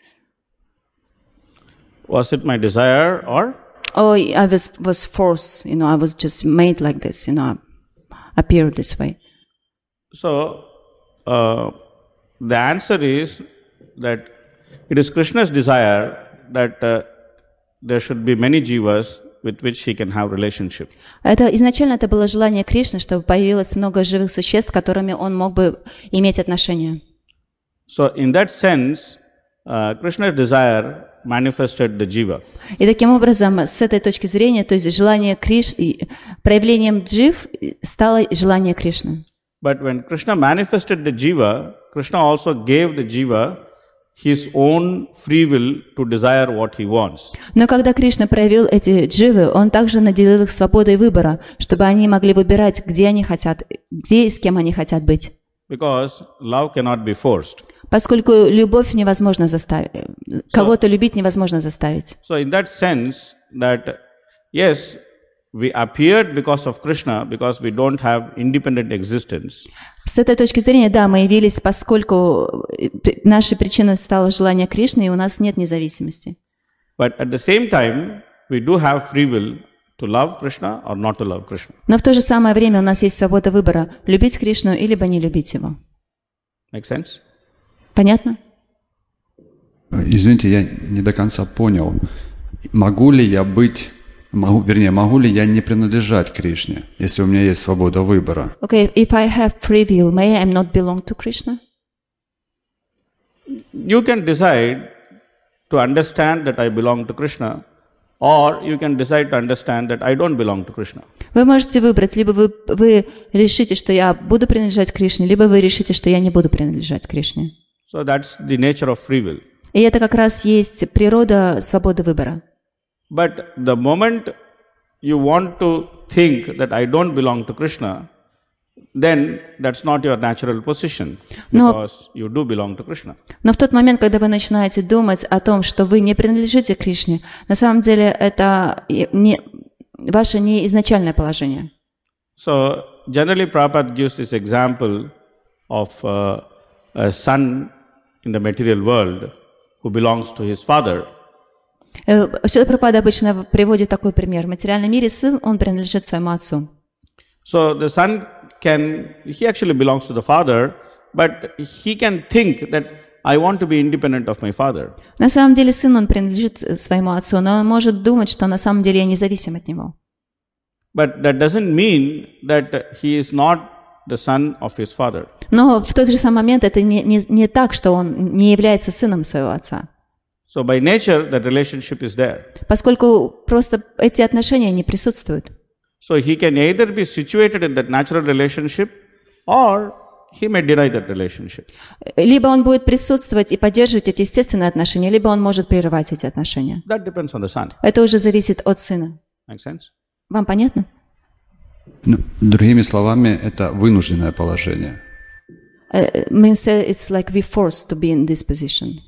Was it my desire or? Oh, I was forced, I was just made like this, appear this way. So, the answer is that it is Krishna's desire that there should be many jivas with which he can have relationship. Изначально это было желание Кришны, чтобы появилось много живых существ, с которыми он мог бы иметь отношения. So, in that sense, Krishna's desire manifested the jiva. И таким образом, с этой точки зрения, то есть желание Кришны, проявлением джив стало желание Кришны. But when Krishna manifested the jiva, Krishna also gave the jiva his own free will to desire what he wants. Но когда Кришна проявил эти дживы, он также наделил их свободой выбора, чтобы они могли выбирать, где они хотят, где и с кем они хотят быть. Because love cannot be forced. Поскольку любовь невозможно заставить, кого-то любить невозможно заставить. So in that sense, that yes, we appeared because of Krishna, because we don't have independent existence. С этой точки зрения, да, мы явились, поскольку нашей причиной стало желание Кришны, и у нас нет независимости. But at the same time, we do have free will to love Krishna or not to love Krishna. Но в то же самое время у нас есть свобода выбора, любить Кришну или не любить его. Make sense? Понятно? Извините, я не до конца понял. Могу ли я не принадлежать Кришне, если у меня есть свобода выбора? Okay, if I have free will, may I not belong to Krishna? You can decide to understand that I belong to Krishna, or you can decide to understand that I don't belong to Krishna. Вы можете выбрать, либо вы решите, что я буду принадлежать Кришне, либо вы решите, что я не буду принадлежать Кришне. So that's the nature of free will. И это как раз есть природа свободы выбора. But the moment you want to think that I don't belong to Krishna, then that's not your natural position, because you do belong to Krishna. Но в тот момент, когда вы начинаете думать о том, что вы не принадлежите Кришне, на самом деле это ваше не изначальное положение. So generally Prabhupada gives this example of a son in the material world who belongs to his father. Шрила Прабхупада обычно приводит такой пример. В материальном мире сын, он принадлежит своему отцу. So the son he actually belongs to the father, but he can think that I want to be independent of my father. На самом деле сын, он принадлежит своему отцу, но он может думать, что на самом деле я независим от него. But that doesn't mean that he is not the son of his father. Но в тот же самый момент это не так, что он не является сыном своего отца. So by nature, that relationship is there. Поскольку просто эти отношения не присутствуют. So he can either be situated in that natural relationship or he may deny that relationship. Либо он будет присутствовать и поддерживать эти естественные отношения, либо он может прерывать эти отношения. That depends on the son. Это уже зависит от сына. Make sense? Вам понятно? Ну, другими словами, это вынужденное положение. Means it's like we're forced to be in this position.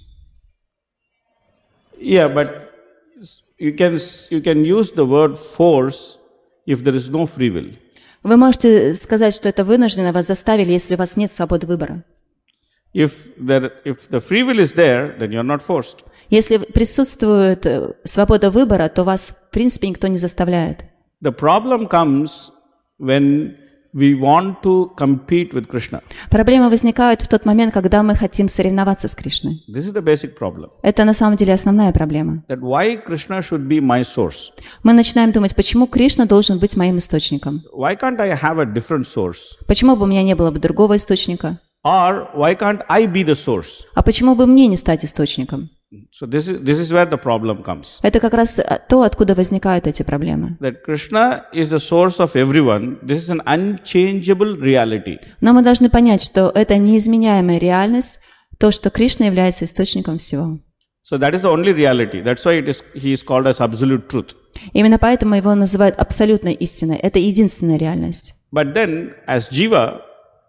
Yeah, but you can use the word force if there is no free will. Вы можете сказать, что это вынужденно, вас заставили, если у вас нет свободы выбора. If the free will is there, then you're not forced. Если присутствует свобода выбора, то вас, в принципе, никто не заставляет. The problem comes when we want to compete with Krishna. Проблемы возникают в тот момент, когда мы хотим соревноваться с Кришной. This is the basic problem. Это на самом деле основная проблема. That why Krishna should be my source? Мы начинаем думать, почему Кришна должен быть моим источником? Why can't I have a different source? Почему бы у меня не было бы другого источника? Or why can't I be the source? А почему бы мне не стать источником? So this is where the problem comes. Это как раз то, откуда возникают эти проблемы. That Krishna is the source of everyone. This is an unchangeable reality. Но мы должны понять, что это неизменяемая реальность, то, что Кришна является источником всего. So that is the only reality. That's why he is called as absolute truth. Именно поэтому его называют абсолютной истиной. Это единственная реальность. But then, as Jiva,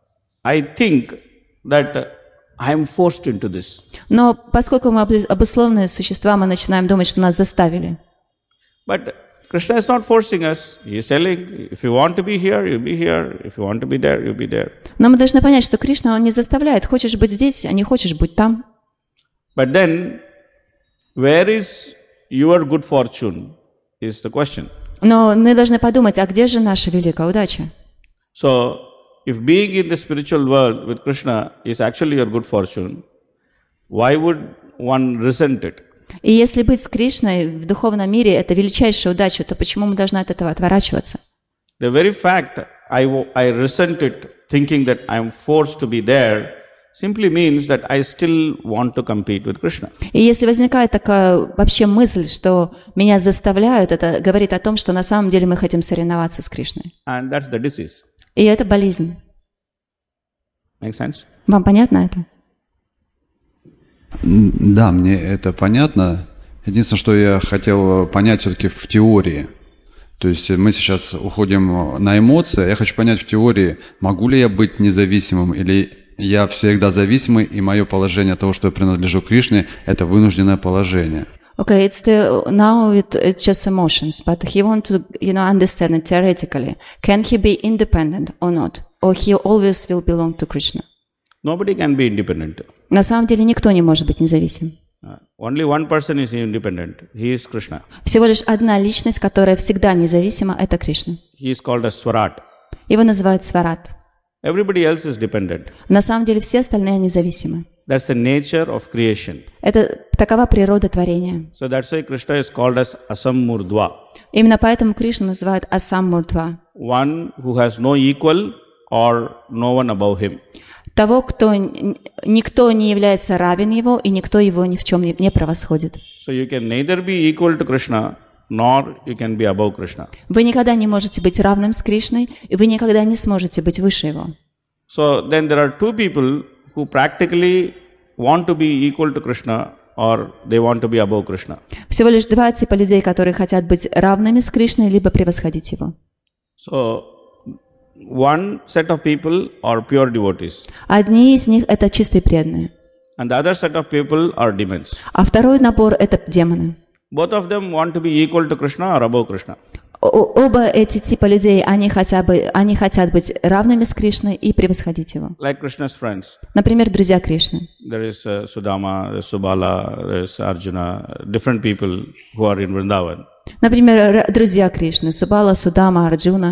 I think that I am forced into this. Но поскольку мы обусловленные существа, мы начинаем думать, что нас заставили. But Krishna is not forcing us. He is telling, if you want to be here, you be here. If you want to be there, you be there. Но мы должны понять, что Кришна, он не заставляет. Хочешь быть здесь, а не хочешь быть там. But then, where is your good fortune is the question. Но мы должны подумать, а где же наша великая удача? So, if being in the spiritual world with Krishna is actually your good fortune, why would one resent it? И если быть с Кришной в духовном мире – это величайшая удача, то почему мы должны от этого отворачиваться? The very fact I resent it, thinking that I am forced to be there, simply means that I still want to compete with Krishna. И если возникает такая вообще мысль, что меня заставляют, это говорит о том, что на самом деле мы хотим соревноваться с Кришной. And that's the disease. И это болезнь. Make sense? Вам понятно это? Да, мне это понятно. Единственное, что я хотел понять все-таки в теории. То есть мы сейчас уходим на эмоции. Я хочу понять в теории, могу ли я быть независимым или я всегда зависимый, и мое положение того, что я принадлежу Кришне, это вынужденное положение. Okay, it's just emotions, but he wants to, understand it theoretically. Can he be independent or not? Or he always will belong to Krishna? Nobody can be independent. На самом деле никто не может быть независим. Only one person is independent. He is Krishna. Всего лишь одна личность, которая всегда независима, это Кришна. He is called as Swarat. Его называют Сварат. Everybody else is dependent. На самом деле все остальные независимы. That's the nature of creation. Это такова природа творения. So that's why Krishna is called as Asammurdva. Именно поэтому Кришну называют Асаммурдва. One who has no equal or no one above him. Того, кто никто не является равен его, и никто его ни в чем не превосходит. So you can neither be equal to Krishna, nor you can be above Krishna. Вы никогда не можете быть равным с Кришной, и вы никогда не сможете быть выше его. So then there are two people who practically want to be equal to Krishna or they want to be above Krishna. Всего лишь два типа людей, которые хотят быть равными с Кришной, либо превосходить его. So one set of people are pure devotees. Одни из них – это чистые преданные, And the other set of people are demons. а второй набор – это демоны. Both of them want to be equal to Krishna or above Krishna. Оба эти типа людей, они хотят быть равными с Кришной и превосходить его. Like Krishna's friends. Например, друзья Кришны. There is Sudama, there is Subala, there is Arjuna, different people who are in Vrindavan. Например, друзья Кришны, Субала, Судама, Арджуна.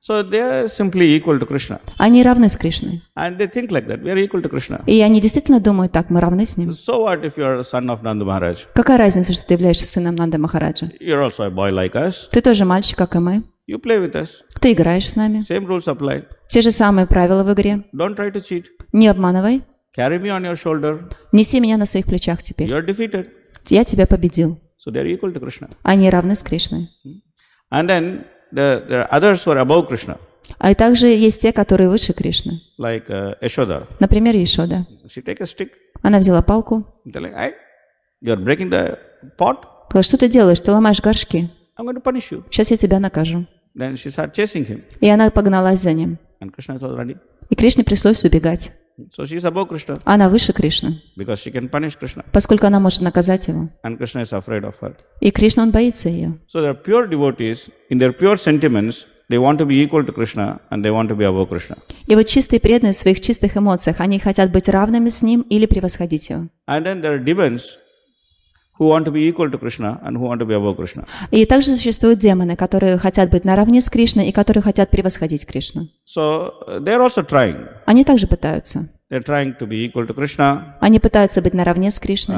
So they are simply equal to Krishna. Они равны с Кришной. And they think like that. We are equal to Krishna. И они действительно думают так, мы равны с ним. So what if you are a son of Nanda Maharaj? Какая разница, что ты являешься сыном Нанды Махараджа? You're also a boy like us. Ты тоже мальчик, как и мы. You play with us. Ты играешь с нами. Same rules apply. Те же самые правила в игре. Don't try to cheat. Не обманывай. Carry me on your shoulder. Неси меня на своих плечах теперь. You are defeated. Я тебя победил. So they are equal to Krishna. Они равны с Кришной. And then there are others who are above Krishna, А и также есть те, которые выше Кришны. like Yashoda. Например, Ешода. She take a stick, Она взяла палку. telling, "Hey, you are breaking the pot. Сказала, что ты делаешь? Ты ломаешь горшки. I'm going to punish you." Сейчас я тебя накажу. Then she started chasing him, И она погналась за ним. and Krishna was running. И Кришне пришлось убегать. So she is above Krishna Она выше Кришны, because she can punish Krishna, поскольку она может наказать его. and Krishna is afraid of her. И Кришна, он боится ее. So there are pure devotees in their pure sentiments. They want to be equal to Krishna, and they want to be above Krishna. И вот чистые преданные в своих чистых эмоциях, они хотят быть равными с ним или превосходить его. And then there are demons who want to be equal to Krishna and who want to be above Krishna. И также существуют демоны, которые хотят быть наравне с Кришной и которые хотят превосходить Кришну. So they are also trying. Они также пытаются. They're trying to be equal to Krishna. Они пытаются быть наравне с Кришной.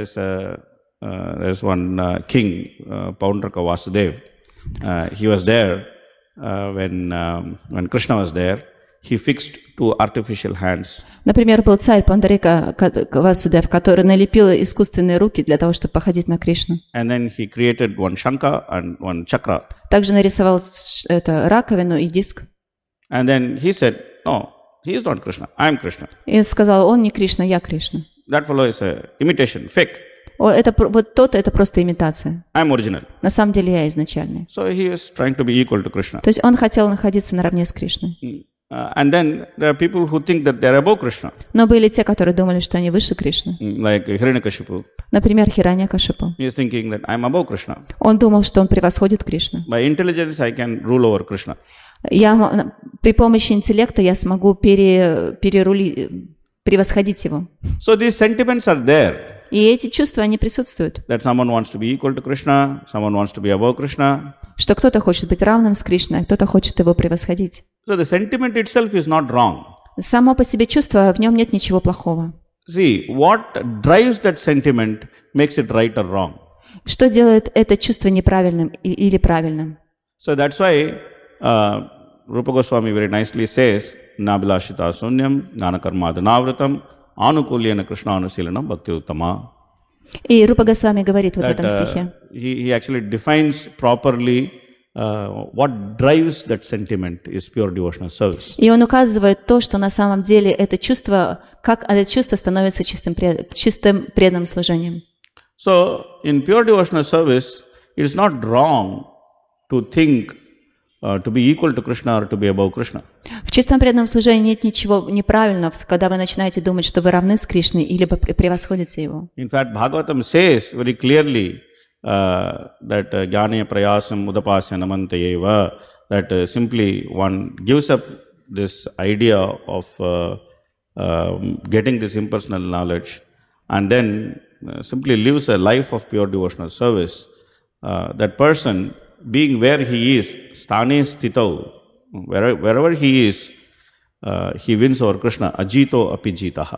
There's one king, Paundraka Vasudev. He was there when Krishna was there. He fixed two artificial hands. Например, был царь Пандарика Васудев, который налепил искусственные руки для того, чтобы походить на Кришну. And then he created one Shankha and one Chakra. Также нарисовал это раковину и диск. And then he said, "No, he is not Krishna. I am Krishna." И сказал, он не Кришна, я Кришна. That fellow is a imitation, fake. Вот тот, это просто имитация. I am original. На самом деле я изначальный. So he was trying to be equal to Krishna. То есть он хотел находиться наравне с Кришной. And then there are people who think that they are above Krishna, Но были те, которые думали, что они выше Кришны. like Hiranyakashipu. Например, Хираньякашипу. He is thinking that I am above Krishna. Он думал, что он превосходит Кришну. By intelligence, I can rule over Krishna. При помощи интеллекта я смогу превосходить его. So these sentiments are there. И эти чувства, они присутствуют. That someone wants to be equal to Krishna, someone wants to be above Krishna. Что кто-то хочет быть равным с Кришной, а кто-то хочет его превосходить. So the sentiment itself is not wrong. Само по себе чувство, в нем нет ничего плохого. See, what drives that sentiment makes it right or wrong. Что делает это чувство неправильным или правильным? So that's why Rupa Goswami very nicely says, Nabilashita sunyam, jnanakarmadhanavratam, anukulyena krishnaanusilanam bhakti uttama. И Рупа Госвами говорит вот в этом стихе. He actually defines properly what drives that sentiment is pure devotional service. И он указывает то, что на самом деле это чувство, как это чувство становится чистым преданным служением. So in pure devotional service, it is not wrong to think to be equal to Krishna or to be above Krishna. В чистом преданном служении нет ничего неправильного, когда вы начинаете думать, что вы равны с Кришной или превосходите его. In fact, Bhagavatam says very clearly that jnane prayasam udapasya namantayeva, that simply one gives up this idea of getting this impersonal knowledge and then simply lives a life of pure devotional service. That person, being where he is, sthane stitau, wherever he is, he wins over Krishna, ajito api jitaha.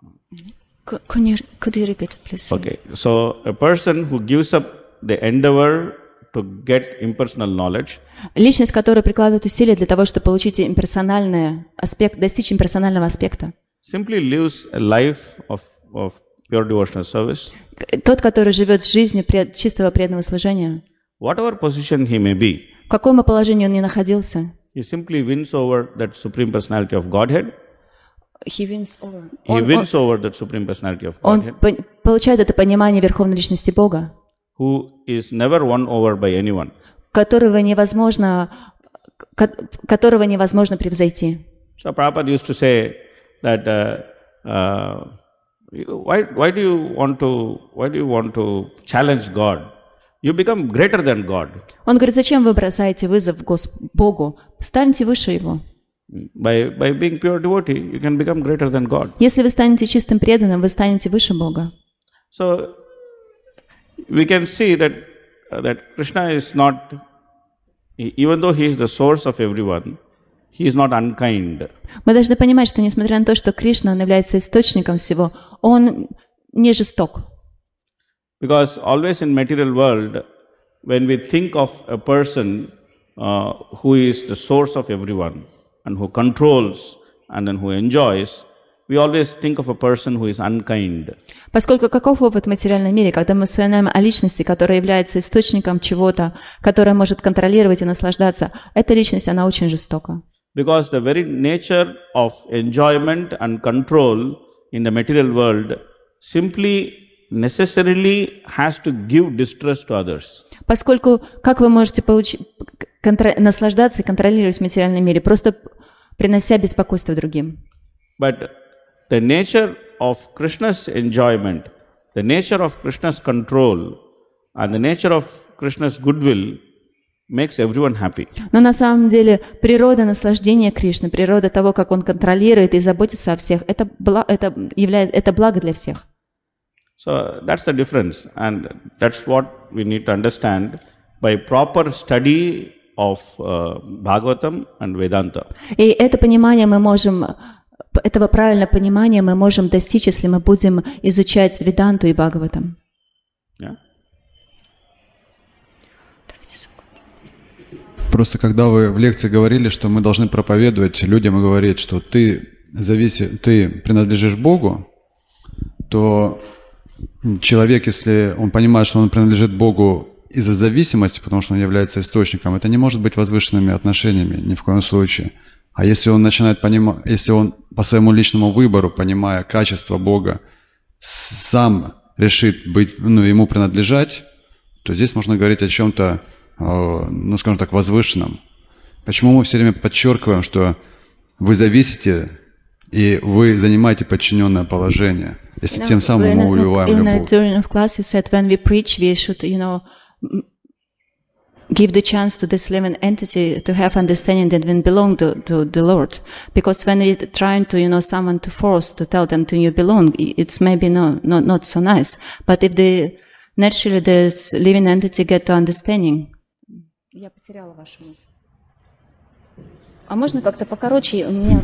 Could you repeat it, please? Okay, so a person who gives up the endeavor to get impersonal knowledge, личность, которая прикладывает усилия для того, чтобы получить имперсональный аспект, достичь имперсонального аспекта, simply lives a life of pure devotional service. Тот, который живет жизнью чистого преданного служения, Whatever position he may be, в каком бы положении он ни находился, he simply wins over that Supreme Personality of Godhead. he wins over. He wins over that Supreme Personality of Он Godhead, получает это понимание Верховной Личности Бога, who is never won over by anyone. которого невозможно превзойти. So Prabhupada used to say that why do you want to challenge God? You become greater than God. Он говорит, зачем вы бросаете вызов Богу? Станьте выше Его. By being pure devotee, you can become greater than God. Если вы станете чистым преданным, вы станете выше Бога. So we can see that Krishna is not Even though he is the source of everyone, he is not unkind. Мы должны понимать, что несмотря на то, что Кришна, он является источником всего, он не жесток. Because always in material world, when we think of a person who is the source of everyone and who controls and then who enjoys, we always think of a person who is unkind. Поскольку каков опыт в материальном мире, когда мы вспоминаем о личности, которая является источником чего-то, которая может контролировать и наслаждаться, эта личность, она очень жестока. Because the very nature of enjoyment and control in the material world simply necessarily has to give distress to others. Поскольку как вы можете наслаждаться и контролировать в материальном мире, просто принося беспокойство другим? But the nature of Krishna's enjoyment, the nature of Krishna's control, and the nature of Krishna's goodwill makes everyone happy. Но на самом деле природа наслаждения Кришны, природа того, как он контролирует и заботится о всех, это благо для всех. So that's the difference, and that's what we need to understand by proper study of Bhagavatam and Vedanta. И это понимание мы можем, этого правильного понимания мы можем достичь, если мы будем изучать Веданту и Бхагаватам. Yeah? Просто когда вы в лекции говорили, что мы должны проповедовать людям и говорить, что ты принадлежишь Богу, то человек, если он понимает, что он принадлежит Богу из-за зависимости, потому что он является источником, это не может быть возвышенными отношениями ни в коем случае. А если он начинает понимать, если он по своему личному выбору, понимая качество Бога, сам решит быть, ему принадлежать, то здесь можно говорить о чем-то, скажем так, возвышенном. Почему мы все время подчеркиваем, что вы зависите и вы занимаете подчиненное положение, если тем самым мы убиваем любовь? During class you said when we preach we should, give the chance to this living entity to have understanding that we belong to the Lord. Because when we're trying to, someone to force to tell them to you belong, it's maybe not so nice. But if naturally this living entity get to understanding. Я потеряла вашу мысль. А можно как-то покороче? У меня...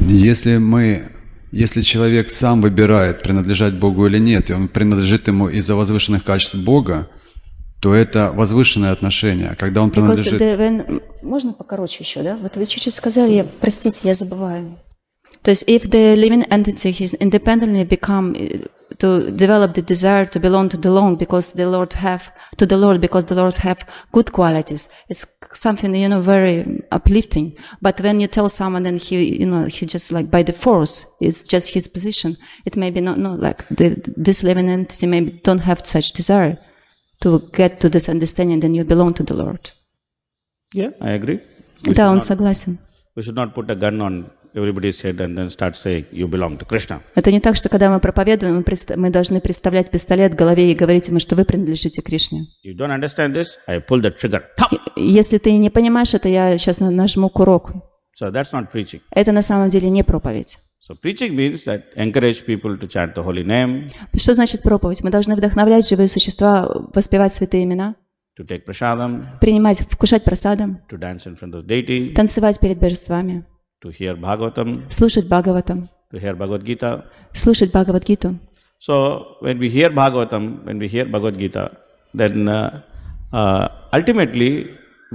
Если человек сам выбирает, принадлежать Богу или нет, и он принадлежит ему из-за возвышенных качеств Бога, то это возвышенное отношение. Когда он принадлежит... Можно покороче еще, да? Вот вы чуть-чуть сказали, простите, я забываю. То есть, if the living entity has independently become to develop the desire to belong to the Lord because the Lord have good qualities, it's something very uplifting. But when you tell someone and he just like by the force, it's just his position. It may be not like this living entity maybe don't have such desire to get to this understanding that you belong to the Lord. Yeah, I agree. Да, он согласен. We should not put a gun on everybody's head and then start saying, you belong to Krishna. Это не так, что когда мы проповедуем, мы должны представлять пистолет в голове и говорить ему, что вы принадлежите Кришне. You don't understand this, I pull the trigger. Если ты не понимаешь это, я сейчас нажму курок. So that's not preaching. Это на самом деле не проповедь. So preaching means that encourage people to chant the holy name. Что значит проповедь? Мы должны вдохновлять живые существа, воспевать святые имена, to take prasadam, вкушать прасадам, to dance in front of the deity, танцевать перед божествами, to hear Bhagavatam, слушать Бхагаватам, to hear Bhagavad Gita. Слушать Бхагавад-гиту. So when we hear Bhagavatam, when we hear Bhagavad Gita, then ultimately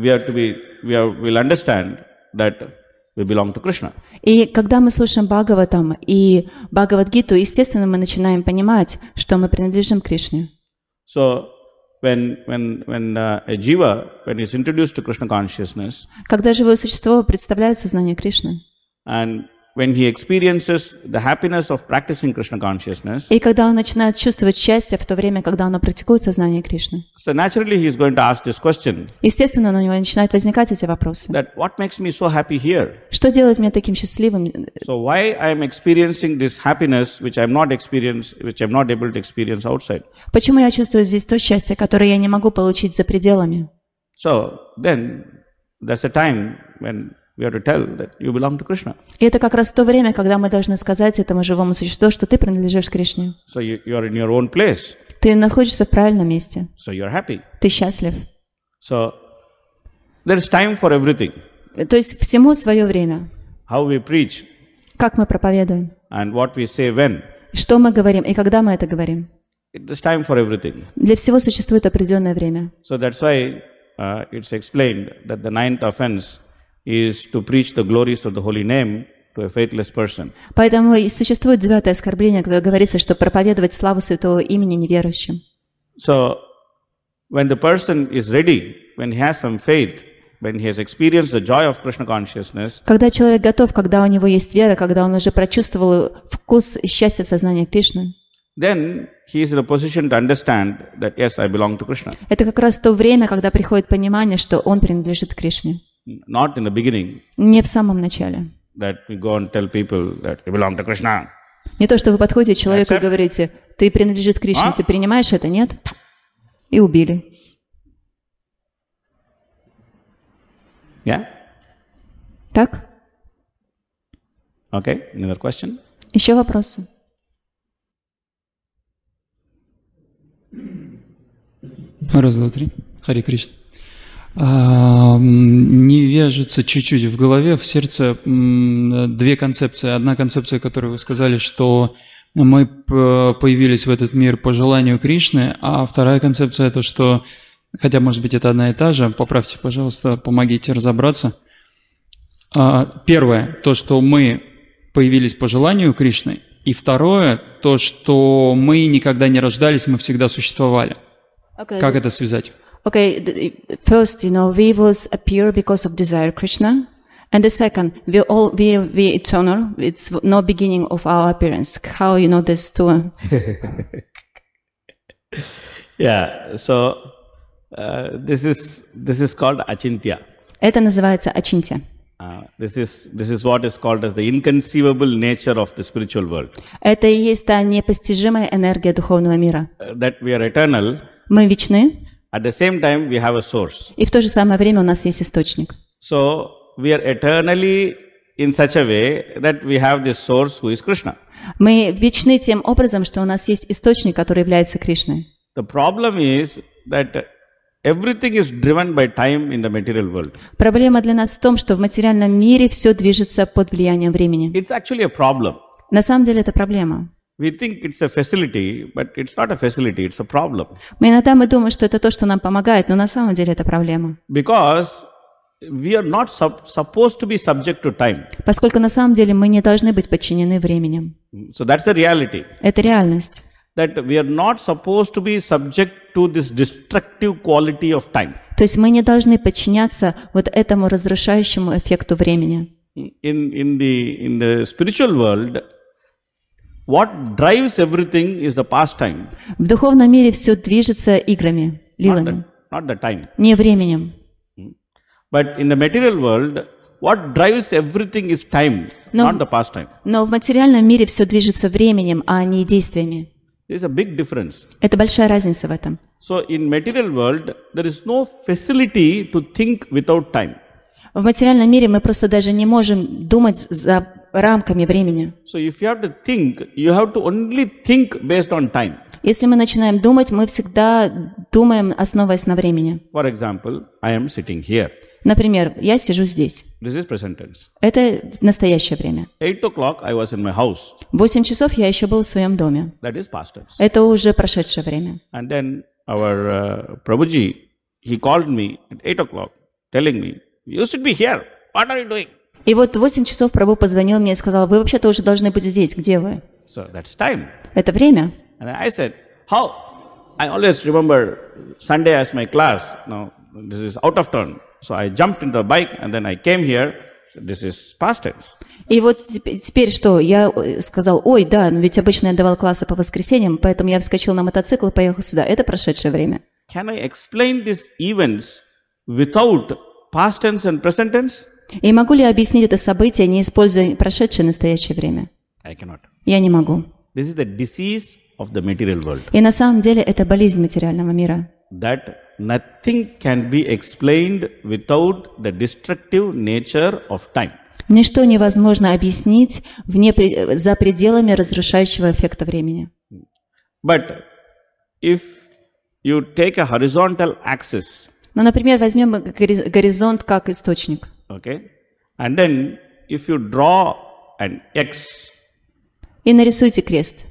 we'll understand that we belong to Krishna. И когда мы слушаем Бхагаватам и Бхагавад-гиту, естественно, мы начинаем понимать, что мы принадлежим Кришне. So when a jiva, when he's introduced to Krishna consciousness, когда живое существо представляет сознание Кришны, and when he experiences the happiness of practicing Krishna consciousness, и когда он начинает чувствовать счастье в то время, когда он практикует сознание Кришны, so naturally he is going to ask this question. Естественно, у него начинают возникать эти вопросы. That what makes me so happy here? Что делает меня таким счастливым? So why I am experiencing this happiness which I am not able to experience outside? Почему я чувствую здесь то счастье, которое я не могу получить за пределами? So then there's a time when we have to tell that you belong to Krishna. И это как раз то время, когда мы должны сказать этому живому существу, что ты принадлежишь Кришне. So you are in your own place. Ты находишься в правильном месте. So you are happy. Ты счастлив. So There is time for everything. То есть всему свое время. How we preach Как мы проповедуем, and what we say when. что мы говорим и когда мы это говорим. There's time for everything. Для всего существует определенное время. So that's why it's explained that the 9th offense is to preach the glories of the holy name to a faithless person. Поэтому и существует 9-е оскорбление, когда говорится, что проповедовать славу святого имени неверующим. So when the person is ready, when he has some faith, when he has experienced the joy of Krishna consciousness, Когда человек готов, когда у него есть вера, когда он уже прочувствовал вкус и счастье сознания Кришны, then he is in a position to understand that yes, I belong to Krishna. это как раз то время, когда приходит понимание, что он принадлежит Кришне. Not in the beginning Не в самом начале. that we go and tell people that you belong to Krishna. Не то, что вы подходите к человеку и Accept. говорите, ты принадлежит Кришне, А? ты принимаешь это, нет? И убили. Yeah? Так? Okay, another question? Еще вопросы? Раз, два, три. Харе Кришна. Не вяжется чуть-чуть в голове, в сердце две концепции. Одна концепция, которую вы сказали, что мы появились в этот мир по желанию Кришны, а вторая концепция – это что, хотя, может быть, это одна и та же, поправьте, пожалуйста, помогите разобраться. Первое – то, что мы появились по желанию Кришны, и второе – то, что мы никогда не рождались, мы всегда существовали. Как это связать? Okay, first, we was appear because of desire Krishna, and the second, we eternal. It's no beginning of our appearance. How you know this two? Yeah, so this is called achintya. Это называется ачинтя. This is what is called as the inconceivable nature of the spiritual world. Это и есть та непостижимая энергия духовного мира. That we are eternal. Мы вечны, At the same time, we have a source. и в то же самое время у нас есть источник. So we are eternally in such a way that we have this source who is Krishna. Мы вечны тем образом, что у нас есть источник, который является Кришной. The problem is that everything is driven by time in the material world. Проблема для нас в том, что в материальном мире все движется под влиянием времени. It's actually a problem. На самом деле это проблема. We think it's a facility, but it's not a facility, it's a problem. Иногда мы думаем, что это то, что нам помогает, но на самом деле это проблема. Because we are not supposed to be subject to time. Поскольку на самом деле мы не должны быть подчинены временем. So that's the reality. Это реальность. That we are not supposed to be subject to this destructive quality of time. То есть мы не должны подчиняться вот этому разрушающему эффекту времени. In the spiritual world, what drives everything is the pastime, В духовном мире все движется играми, лилами, not the time. не временем. But in the material world, what drives everything is time, No. not the pastime. Но в материальном мире все движется временем, а не действиями. There's a big difference. Это большая разница в этом. So in material world, there is no facility to think without time. В материальном мире мы просто даже не можем думать за рамками времени. So if you have to think, you have to only think based on time. Если мы начинаем думать, мы всегда думаем, основываясь на времени. For example, I am sitting here. Например, я сижу здесь. This is present tense. Это настоящее время. 8 o'clock, I was in my house. В 8 часов я еще был в своем доме. That is past tense. Это уже прошедшее время. And then our Prabhuji, he called me at 8 o'clock, telling me, you should be here. What are you doing? И вот в 8 часов Прабху позвонил мне и сказал, вы вообще-то уже должны быть здесь, где вы? So that's time. Это время. And I said, how? I always remember Sunday as my class. Now, this is out of turn. So I jumped into the bike and then I came here. So this is past tense. И вот теперь что? Я сказал, ой, да, но ведь обычно я давал классы по воскресеньям, поэтому я вскочил на мотоцикл и поехал сюда. Это прошедшее время. Can I explain these events without past tense and present tense? И могу ли я объяснить это событие, не используя прошедшее и настоящее время? I cannot. Я не могу. This is the disease of the material world. И на самом деле это болезнь материального мира. That nothing can be explained without the destructive nature of time. Ничто невозможно объяснить за пределами разрушающего эффекта времени. But if you take a horizontal axis Ну, например, возьмем горизонт как источник. Okay? And then if you draw an X И нарисуйте крест,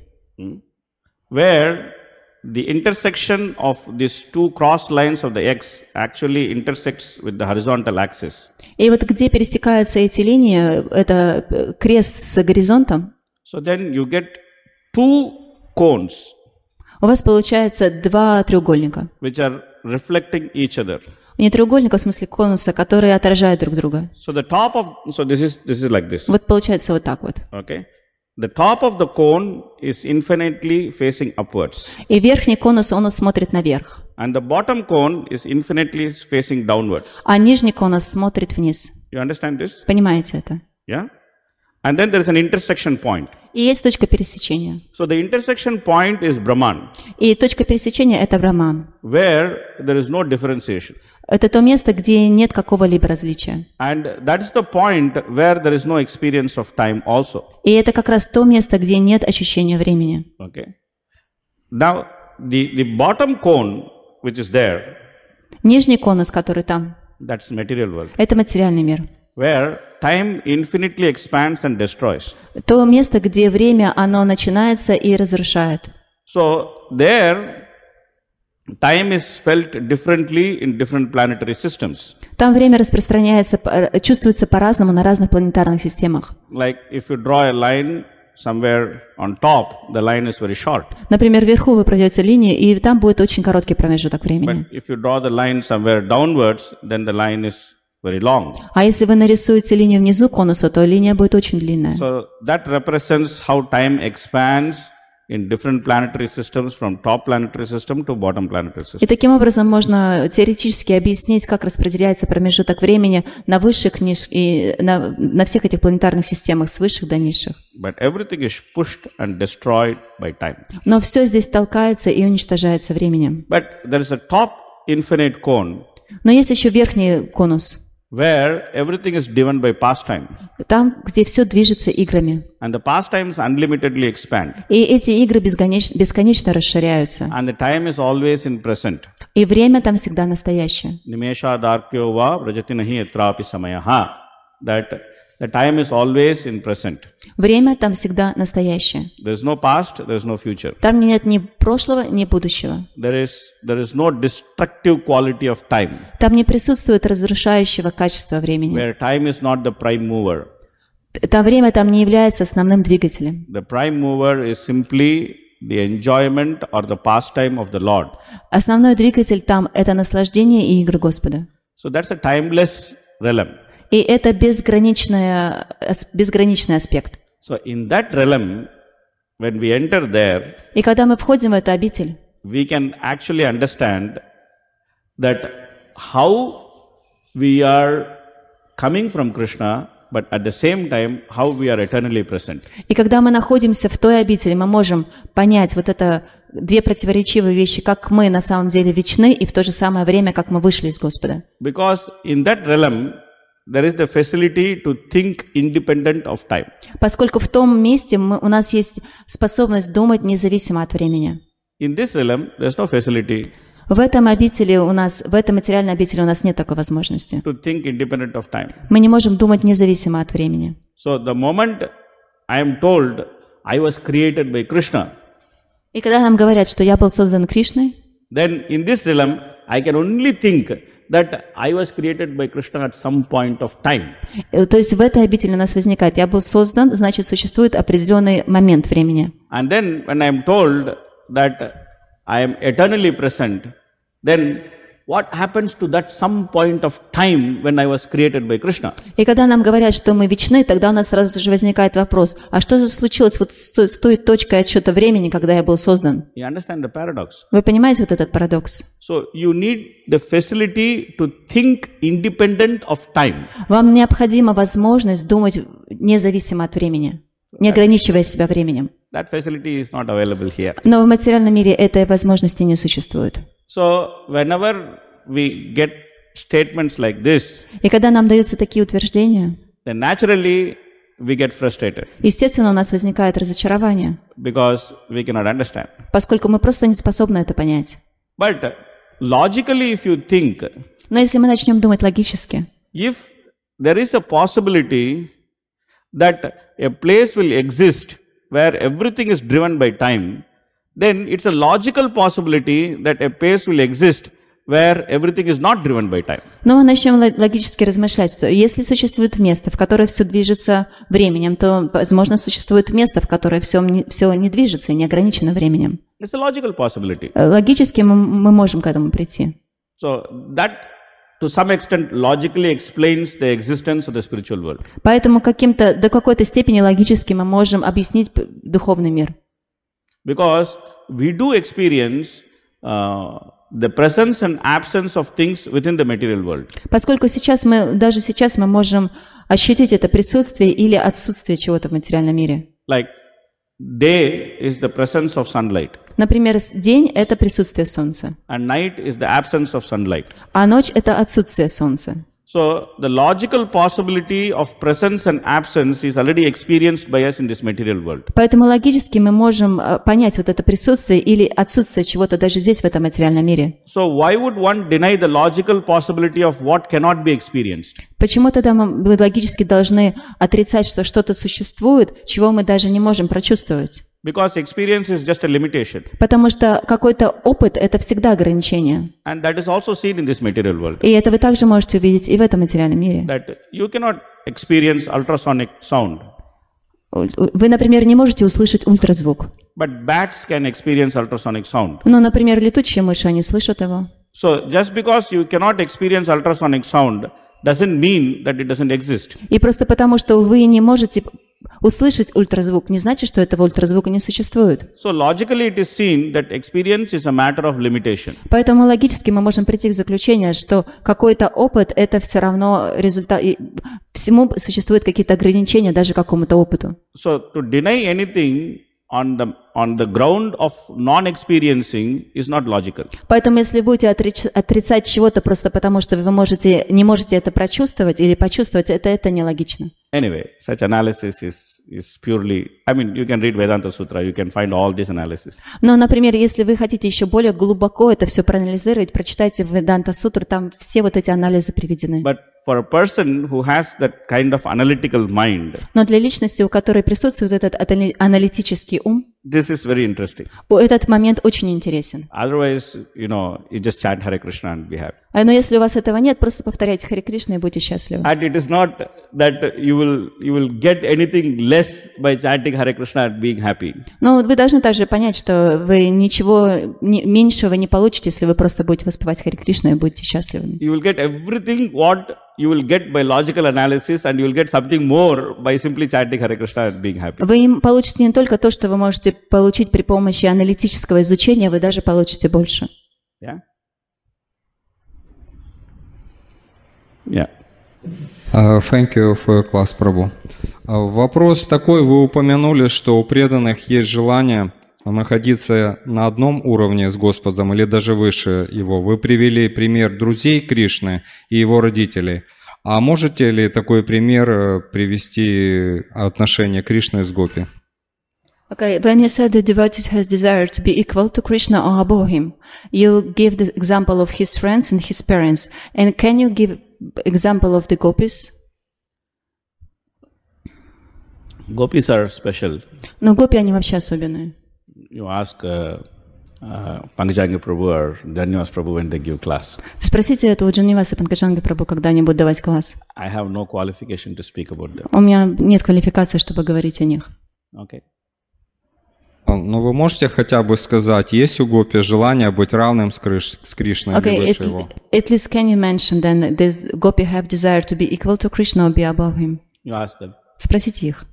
where the intersection of these two cross lines of the X actually intersects with the horizontal axis. и вот где пересекаются эти линии, это крест с горизонтом, So then you get two cones у вас получается два треугольника. which are reflecting each other. Не треугольника в смысле конуса, которые отражают друг друга. So the top of, so this is like this. Вот получается вот так вот. Okay? The top of the cone is infinitely facing upwards. И верхний конус, он смотрит наверх, And the bottom cone is infinitely facing downwards. а нижний конус смотрит вниз. You understand this? Понимаете это? Yeah? And then there is an intersection point. И есть точка пересечения. So the intersection point is Brahman, И точка пересечения – это Брахман. where there is no differentiation. Это то место, где нет какого-либо различия. And that is the point where there is no experience of time also. И это как раз то место, где нет ощущения времени. Okay? Now, the bottom cone, which is there, Нижний конус, который там, that's material world, это материальный мир. where time infinitely expands and destroys. То место, где время, оно начинается и разрушает. So there, time is felt differently in different planetary systems. Там время распространяется, чувствуется по-разному на разных планетарных системах. Like if you draw a line somewhere on top, the line is very short. Например, вверху вы пройдете линию, и там будет очень короткий промежуток времени. But if you draw the line somewhere downwards, then the line is very long. А если вы нарисуете линию внизу конуса, то линия будет очень длинная. So that represents how time expands in different planetary systems, from top planetary system to bottom planetary system. И таким образом можно теоретически объяснить, как распределяется промежуток времени на высших и на всех этих планетарных системах, с высших до низших. But everything is pushed and destroyed by time. Но все здесь толкается и уничтожается временем. But there is a top infinite cone Но есть еще верхний конус, where everything is driven by pastime. там, где все движется играми. And the pastimes unlimitedly expand. И эти игры бесконечно расширяются. And the time is always in present. И время там всегда настоящее. Nimesha darkyo va vrajati nahi yatrapi samayaha. That the time is always in present. Время там всегда настоящее. There is no past, there is no future. Там нет ни прошлого, ни будущего. There is no destructive quality of time, Там не присутствует разрушающего качества времени. where time is not the prime mover. Это время там не является основным двигателем. The prime mover is simply the enjoyment or the pastime of the Lord. Основной двигатель там – это наслаждение и игры Господа. So that's a timeless realm. И это безграничный аспект. So in that realm, when we enter there, И когда мы входим в эту обитель, we can actually understand that how we are coming from Krishna, but at the same time, how we are eternally present. и когда мы находимся в той обители, мы можем понять вот это две противоречивые вещи, как мы на самом деле вечны, и в то же самое время, как мы вышли из Господа. Because in that realm, there is the facility to think independent of time. Поскольку в том месте у нас есть способность думать независимо от времени. In this realm, there is no facility В этом материальной обители у нас нет такой возможности. to think independent of time. Мы не можем думать независимо от времени. So the moment I am told I was created by Krishna, И когда нам говорят, что я был создан Кришной, then in this realm, I can only think that I was created by Krishna at some point of time. то есть в этой обители у нас возникает, я был создан, значит, существует определенный момент времени. And then when I am told that I am eternally present, then what happens to that some point of time when I was created by Krishna? И когда нам говорят, что мы вечны, тогда у нас сразу же возникает вопрос, а что же случилось вот с той точкой отсчета времени, когда я был создан? You understand the paradox? Вы понимаете вот этот парадокс? So you need the facility to think independent of time. Вам необходима возможность думать независимо от времени, не ограничивая себя временем. That facility is not available here. Но в материальном мире этой возможности не существует. So whenever we get statements like this, И когда нам даются такие утверждения, then naturally we get frustrated естественно, у нас возникает разочарование, because we cannot understand. поскольку мы просто не способны это понять. But logically, if you think, Но если мы начнем думать логически, if there is a possibility that a place will exist where everything is driven by time, then it's a logical possibility that a place will exist where everything is not driven by time. но мы начнем логически размышлять, что если существует место, в которое все движется временем, то, возможно, существует место, в которое все не движется и не ограничено временем. It's a logical possibility. Логически мы можем к этому прийти. So that, to some extent, logically explains the existence of the spiritual world. Поэтому до какой-то степени логически мы можем объяснить духовный мир. Because we do experience the presence and absence of things within the material world. Поскольку даже сейчас мы можем ощутить это присутствие или отсутствие чего-то в материальном мире. Like day is the presence of sunlight, Например, день – это присутствие солнца, and night is the absence of sunlight. а ночь – это отсутствие солнца. So the logical possibility of presence and absence is already experienced by us in this material world. Поэтому логически мы можем понять вот это присутствие или отсутствие чего-то даже здесь, в этом материальном мире. So why would one deny the logical possibility of what cannot be experienced? Почему тогда мы логически должны отрицать, что что-то существует, чего мы даже не можем прочувствовать? Because experience is just a limitation. Потому что какой-то опыт – это всегда ограничение. And that is also seen in this material world. И это вы также можете увидеть и в этом материальном мире. That you cannot experience ultrasonic sound, Вы, например, не можете услышать ультразвук. but bats can experience ultrasonic sound. Но, например, летучие мыши, они слышат его. So just because you cannot experience ultrasonic sound doesn't mean that it doesn't exist. И просто потому, что вы не можете услышать ультразвук, не значит, что этого ультразвука не существует. So logically it is seen that experience is a matter of limitation. Поэтому логически мы можем прийти к заключению, что какой-то опыт – это все равно результат. Всему существуют какие-то ограничения даже какому-то опыту. So to deny anything on the ground of non-experiencing is not logical. Поэтому если будете отрицать чего-то просто потому, что вы не можете это прочувствовать или почувствовать, это нелогично. Anyway, such analysis is purely, I mean, you can read Vedanta Sutra, you can find all this analysis. Но, например, если вы хотите еще более глубоко это все проанализировать, прочитайте Веданта Сутру, там все вот эти анализы приведены. But for a person who has that kind of analytical mind, Но для личности, у которой присутствует этот аналитический ум, this is very interesting. этот момент очень интересен. Otherwise, you just chant Hare Krishna and be happy. Но если у вас этого нет, просто повторяйте Харе Кришна и будьте счастливы. And it is not that you will get anything less by chanting Hare Krishna and being happy. Но вы должны также понять, что вы ничего меньшего не получите, если вы просто будете воспевать Харе Кришна и будете счастливыми. You will get everything what you will get by logical analysis, and you will get something more by simply chanting Hare Krishna and being happy. Вы получите не только то, что вы можете получить при помощи аналитического изучения, вы даже получите больше. Yeah? Yeah. Thank you for class, Prabhu. Вопрос такой, вы упомянули, что у преданных есть желание находиться на одном уровне с Господом или даже выше его. Вы привели пример друзей Кришны и его родителей. А можете ли такой пример привести отношение Кришны с Гопи? Okay, when you said the devotee has desire to be equal to Krishna or above him, you give the example of his friends and his parents. And can you give example of the gopis? Gopis are special. Но гопи, они вообще особенные. You ask Pankajangi Prabhu or Janyavas Prabhu when they give class. Спросите это у Джанниваса Панкаджанги Прабху, когда они будут давать класс. I have no qualification to speak about them. У меня нет квалификации, чтобы говорить о них. Okay. Но вы можете хотя бы сказать, есть у Гопи желание быть равным с Кришной или выше его? At least can you mention then, does Gopi have desire to be equal to Krishna or be above him? You ask them. Спросите их.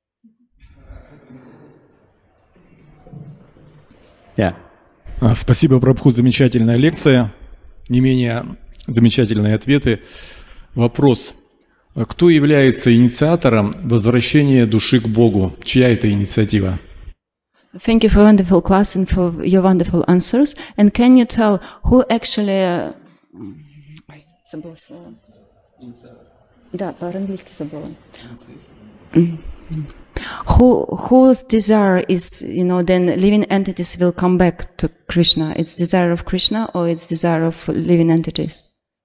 Yeah. Спасибо, Прабху, замечательная лекция, не менее замечательные ответы. Вопрос. Кто является инициатором возвращения души к Богу? Чья это инициатива? Thank you for wonderful class and for your wonderful answers. And can you tell who actually... Забыла слово. Да, по-английски забыла. Whose desire is, then living entities will come back to Krishna? It's desire of Krishna or it's desire of living entities?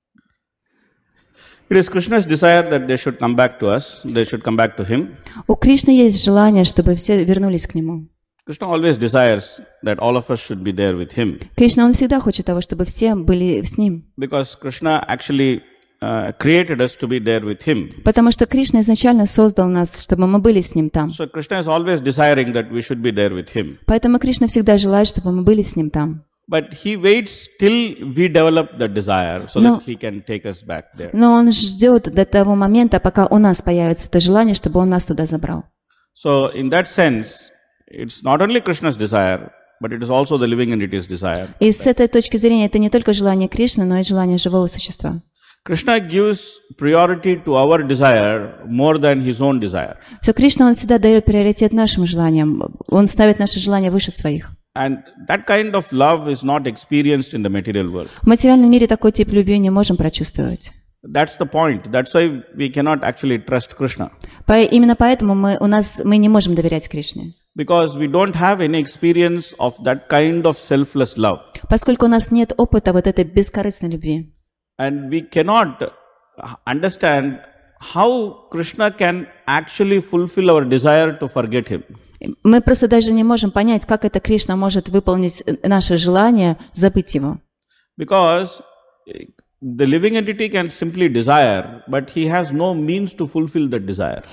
It is Krishna's desire that they should come back to us, they should come back to him. У Кришны есть желание, чтобы все вернулись к Нему. Krishna always desires that all of us should be there with him. Кришна, Он всегда хочет того, чтобы все были с Ним. Because Krishna actually created us to be there with him. Потому что Кришна изначально создал нас, чтобы мы были с Ним там. So Krishna is always desiring that we should be there with him. Поэтому Кришна всегда желает, чтобы мы были с Ним там. But he waits till we develop the desire so that he can take us back there. Но Он ждет до того момента, пока у нас появится это желание, чтобы Он нас туда забрал. So in that sense, it's not only Krishna's desire, but it is also the living entity's desire. И с этой точки зрения это не только желание Кришны, но и желание живого существа. Krishna gives priority to our desire more than his own desire. То Кришна, Он всегда дает приоритет нашим желаниям. Он ставит наши желания выше своих. And that kind of love is not experienced in the material world. В материальном мире такой тип любви не можем прочувствовать. That's the point. That's why we cannot actually trust Krishna. Именно поэтому мы не можем доверять Кришне. Because we don't have any experience of that kind of selfless love. Поскольку у нас нет опыта вот этой бескорыстной любви. And we cannot understand how Krishna can actually fulfill our desire to forget him. Мы просто даже не можем понять, как это Кришна может выполнить наше желание забыть Его. Because the living entity can simply desire, but he has no means to fulfill that desire.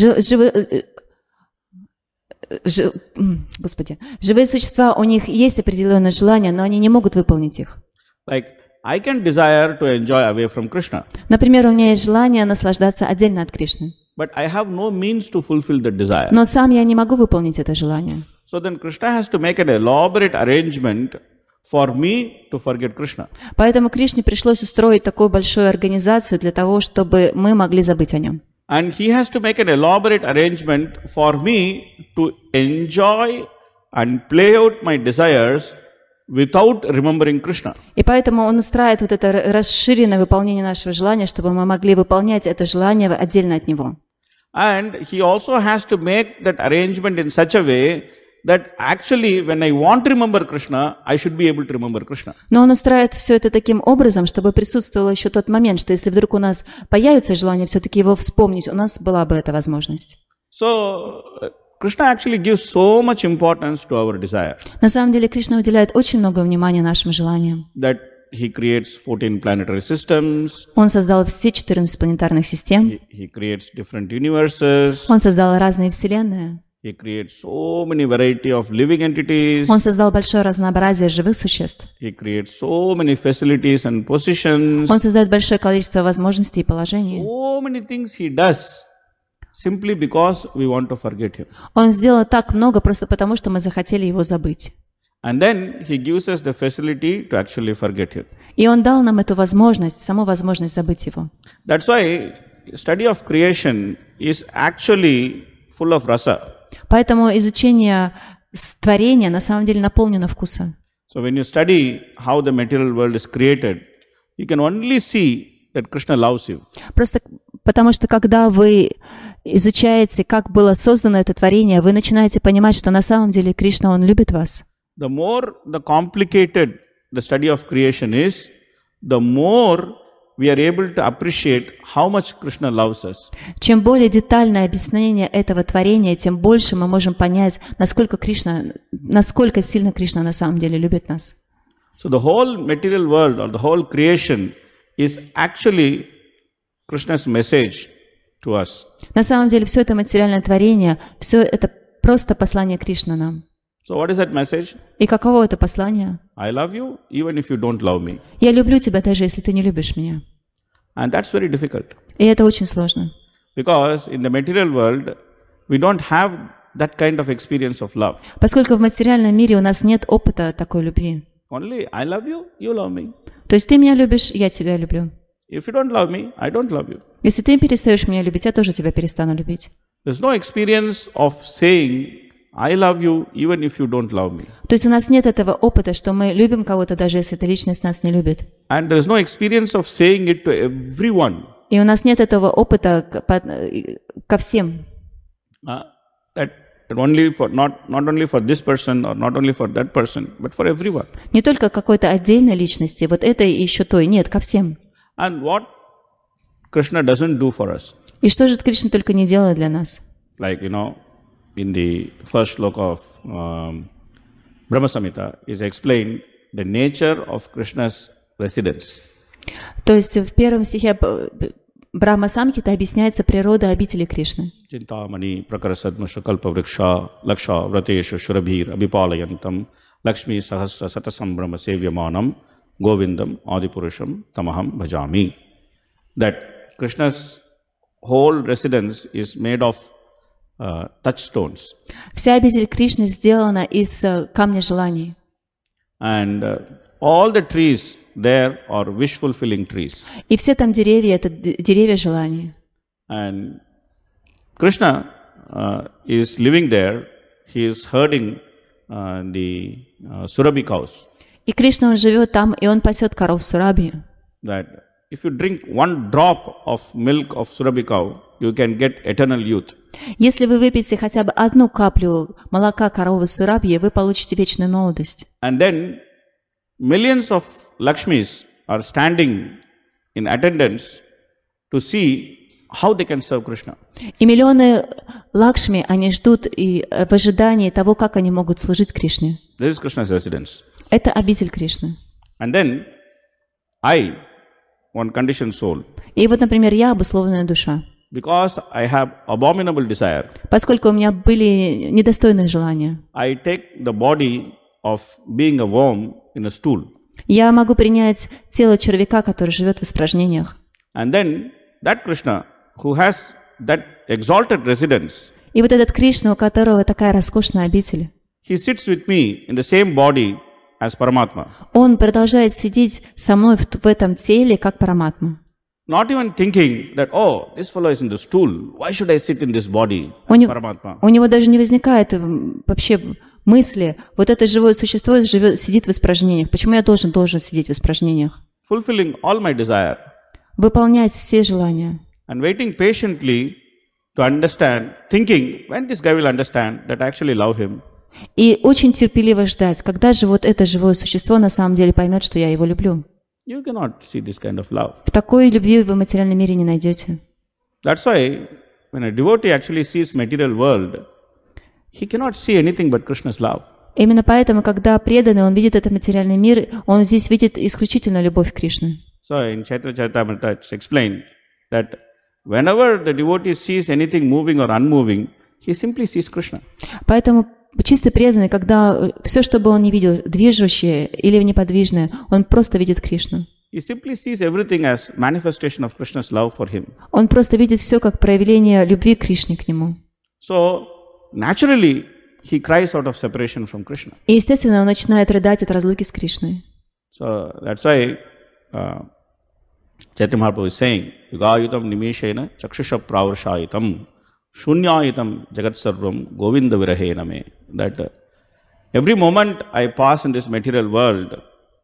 Живые существа, у них есть определенные желания, но они не могут выполнить их. Like, I can desire to enjoy away from Krishna. Например, у меня есть желание наслаждаться отдельно от Кришны. But I have no means to fulfill that desire. Но сам я не могу выполнить это желание. So then Krishna has to make an elaborate arrangement for me to forget Krishna. Поэтому Кришне пришлось устроить такую большую организацию для того, чтобы мы могли забыть о Нем. And he has to make an elaborate arrangement for me to enjoy and play out my desires without remembering Krishna. И поэтому Он устраивает вот это расширенное выполнение нашего желания, чтобы мы могли выполнять это желание отдельно от Него. And he also has to make that arrangement in such a way that actually when I want to remember Krishna, I should be able to remember Krishna. Но Он устраивает все это таким образом, чтобы присутствовал еще тот момент, что если вдруг у нас появится желание все-таки Его вспомнить, у нас была бы эта возможность. So Krishna actually gives so much importance to our desire. На самом деле Кришна уделяет очень много внимания нашим желаниям. That he creates 14 planetary systems. Он создал все 14 планетарных систем. He creates different universes. Он создал разные вселенные. He creates so many variety of living entities. Он создал большое разнообразие живых существ. He creates so many facilities and positions. Он создает большое количество возможностей и положений. So many things he does simply because we want to forget him. Он сделал так много просто потому, что мы захотели Его забыть. And then he gives us the facility to actually forget him. И Он дал нам эту возможность, саму возможность забыть Его. That's why study of creation is actually full of rasa. Поэтому изучение творения на самом деле наполнено вкусом. So when you study how the material world is created, you can only see that Krishna loves you. Просто потому что когда вы изучаете, как было создано это творение, вы начинаете понимать, что на самом деле Кришна, Он любит вас. The more the complicated the study of creation is, the more we are able to appreciate how much Krishna loves us. Чем более детальное объяснение этого творения, тем больше мы можем понять, насколько сильно Кришна на самом деле любит нас. So the whole material world or the whole creation is actually Krishna's message to us. На самом деле все это материальное творение, все это просто послание Кришны нам. So what is that message? И каково это послание? I love you even if you don't love me. Я люблю тебя, даже если ты не любишь меня. And that's very difficult. И это очень сложно. Because in the material world, we don't have that kind of experience of love. Поскольку в материальном мире у нас нет опыта такой любви. Only I love you, you love me. То есть ты меня любишь, я тебя люблю. If you don't love me, I don't love you. Если ты перестаешь меня любить, я тоже тебя перестану любить. There's no experience of saying, I love you even if you don't love me. То есть у нас нет этого опыта, что мы любим кого-то, даже если эта личность нас не любит. And there's no experience of saying it to everyone. И у нас нет этого опыта ко всем. that only for not only for this person or not only for that person, but for everyone. Не только какой-то отдельной личности, вот этой и еще той, нет, ко всем. And what Krishna doesn't do for us, И что же Кришна только не делает для нас? like in the first sloka of Brahma Samhita is explained the nature of Krishna's residence. То есть в первом стихе Брахма Самхита объясняется природа обители Кришны. Chintamani prakarasadmasha kalpavriksha laksha vrateshu shurabhir abhipalayantam lakshmi sahasra satasam sevyamanam govindam adipurusham tamaham bhajami. That Krishna's whole residence is made of touchstones. Вся обитель Кришны сделана из камня желаний. And all the trees there are wish-fulfilling trees. И все там деревья — это деревья желаний. And Krishna is living there. He is herding the Surabhi cows. И Кришна, он живет там, и он пасет коров Сурабхи. That if you drink one drop of milk of Surabhi cow, you can get eternal youth. Если вы выпьете хотя бы одну каплю молока коровы Сурабхи, вы получите вечную молодость. And then millions of Lakshmis are standing in attendance to see how they can serve Krishna. И миллионы Лакшми, они ждут и в ожидании того, как они могут служить Кришне. This is Krishna's residence. Это обитель Кришны. And then I, one conditioned soul, И вот, например, я обусловленная душа. because I have abominable desire, Поскольку у меня были недостойные желания, I take the body of being a worm in a stool. я могу принять тело червяка, который живет в испражнениях. And then that Krishna who has that exalted residence, И вот этот Кришна, у которого такая роскошная обитель, he sits with me in the same body as Paramatma. он продолжает сидеть со мной в этом теле, как Параматма. Not even thinking that, oh, this fellow is in the stool. Why should I sit in this body У as него, Paramatma? у него даже не возникает вообще мысли, вот это живое существо сидит в испражнениях. Почему я должен сидеть в испражнениях? Fulfilling all my desire Выполнять все желания. and waiting patiently to understand, thinking, when this guy will understand that I actually love him. И очень терпеливо ждать, когда же вот это живое существо на самом деле поймет, что я его люблю. You cannot see this kind of love. В такой любви вы в материальном мире не найдете. That's why when a devotee actually sees material world, he cannot see anything but Krishna's love. Именно поэтому, когда преданный, он видит этот материальный мир, он здесь видит исключительно любовь Кришны. So in Chaitra Charitamrita it's explained that whenever the devotee sees anything moving or unmoving, he simply sees Krishna. Поэтому чистый преданный, когда все, что бы он не видел, движущее или неподвижное, он просто видит Кришну. He simply sees everything as manifestation of Krishna's love for him. Он просто видит все как проявление любви Кришны к нему. So naturally he cries out of separation from Krishna. И, естественно, он начинает рыдать от разлуки с Кришной. So that's why Chaitanya Mahaprabhu is saying, Yugayitam nimeshena chakshusha pravarashayitam shunyayitam jagat sarvam govinda virahena me. That every moment I pass in this material world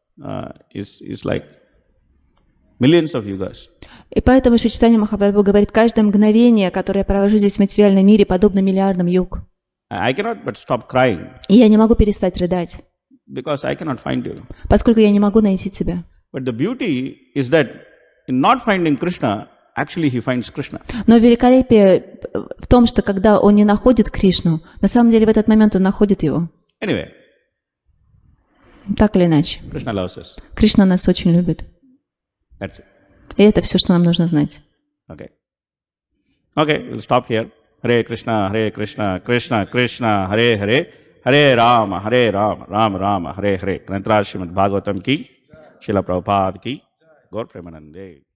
is like millions of yugas. И поэтому Шри Чайтанья Махапрабху говорит, каждое мгновение, которое я провожу здесь в материальном мире, подобно миллиардам юг. I cannot but stop crying И я не могу перестать рыдать, because I cannot find you. поскольку я не могу найти тебя. But the beauty is that in not finding Krishna, actually he finds Krishna. Но великолепие в том, что когда он не находит Кришну, на самом деле в этот момент он находит его. Anyway, Так или иначе. Krishna loves us. Кришна нас очень любит. That's it. И это все, что нам нужно знать. Okay. Okay, we'll stop here. Hare Krishna, Krishna Krishna, Hare Hare, Hare Rama, Rama Rama, Hare Hare. Grantaraj Srimad Bhagavatam ki, Srila Prabhupada ki, Gaur Premanande.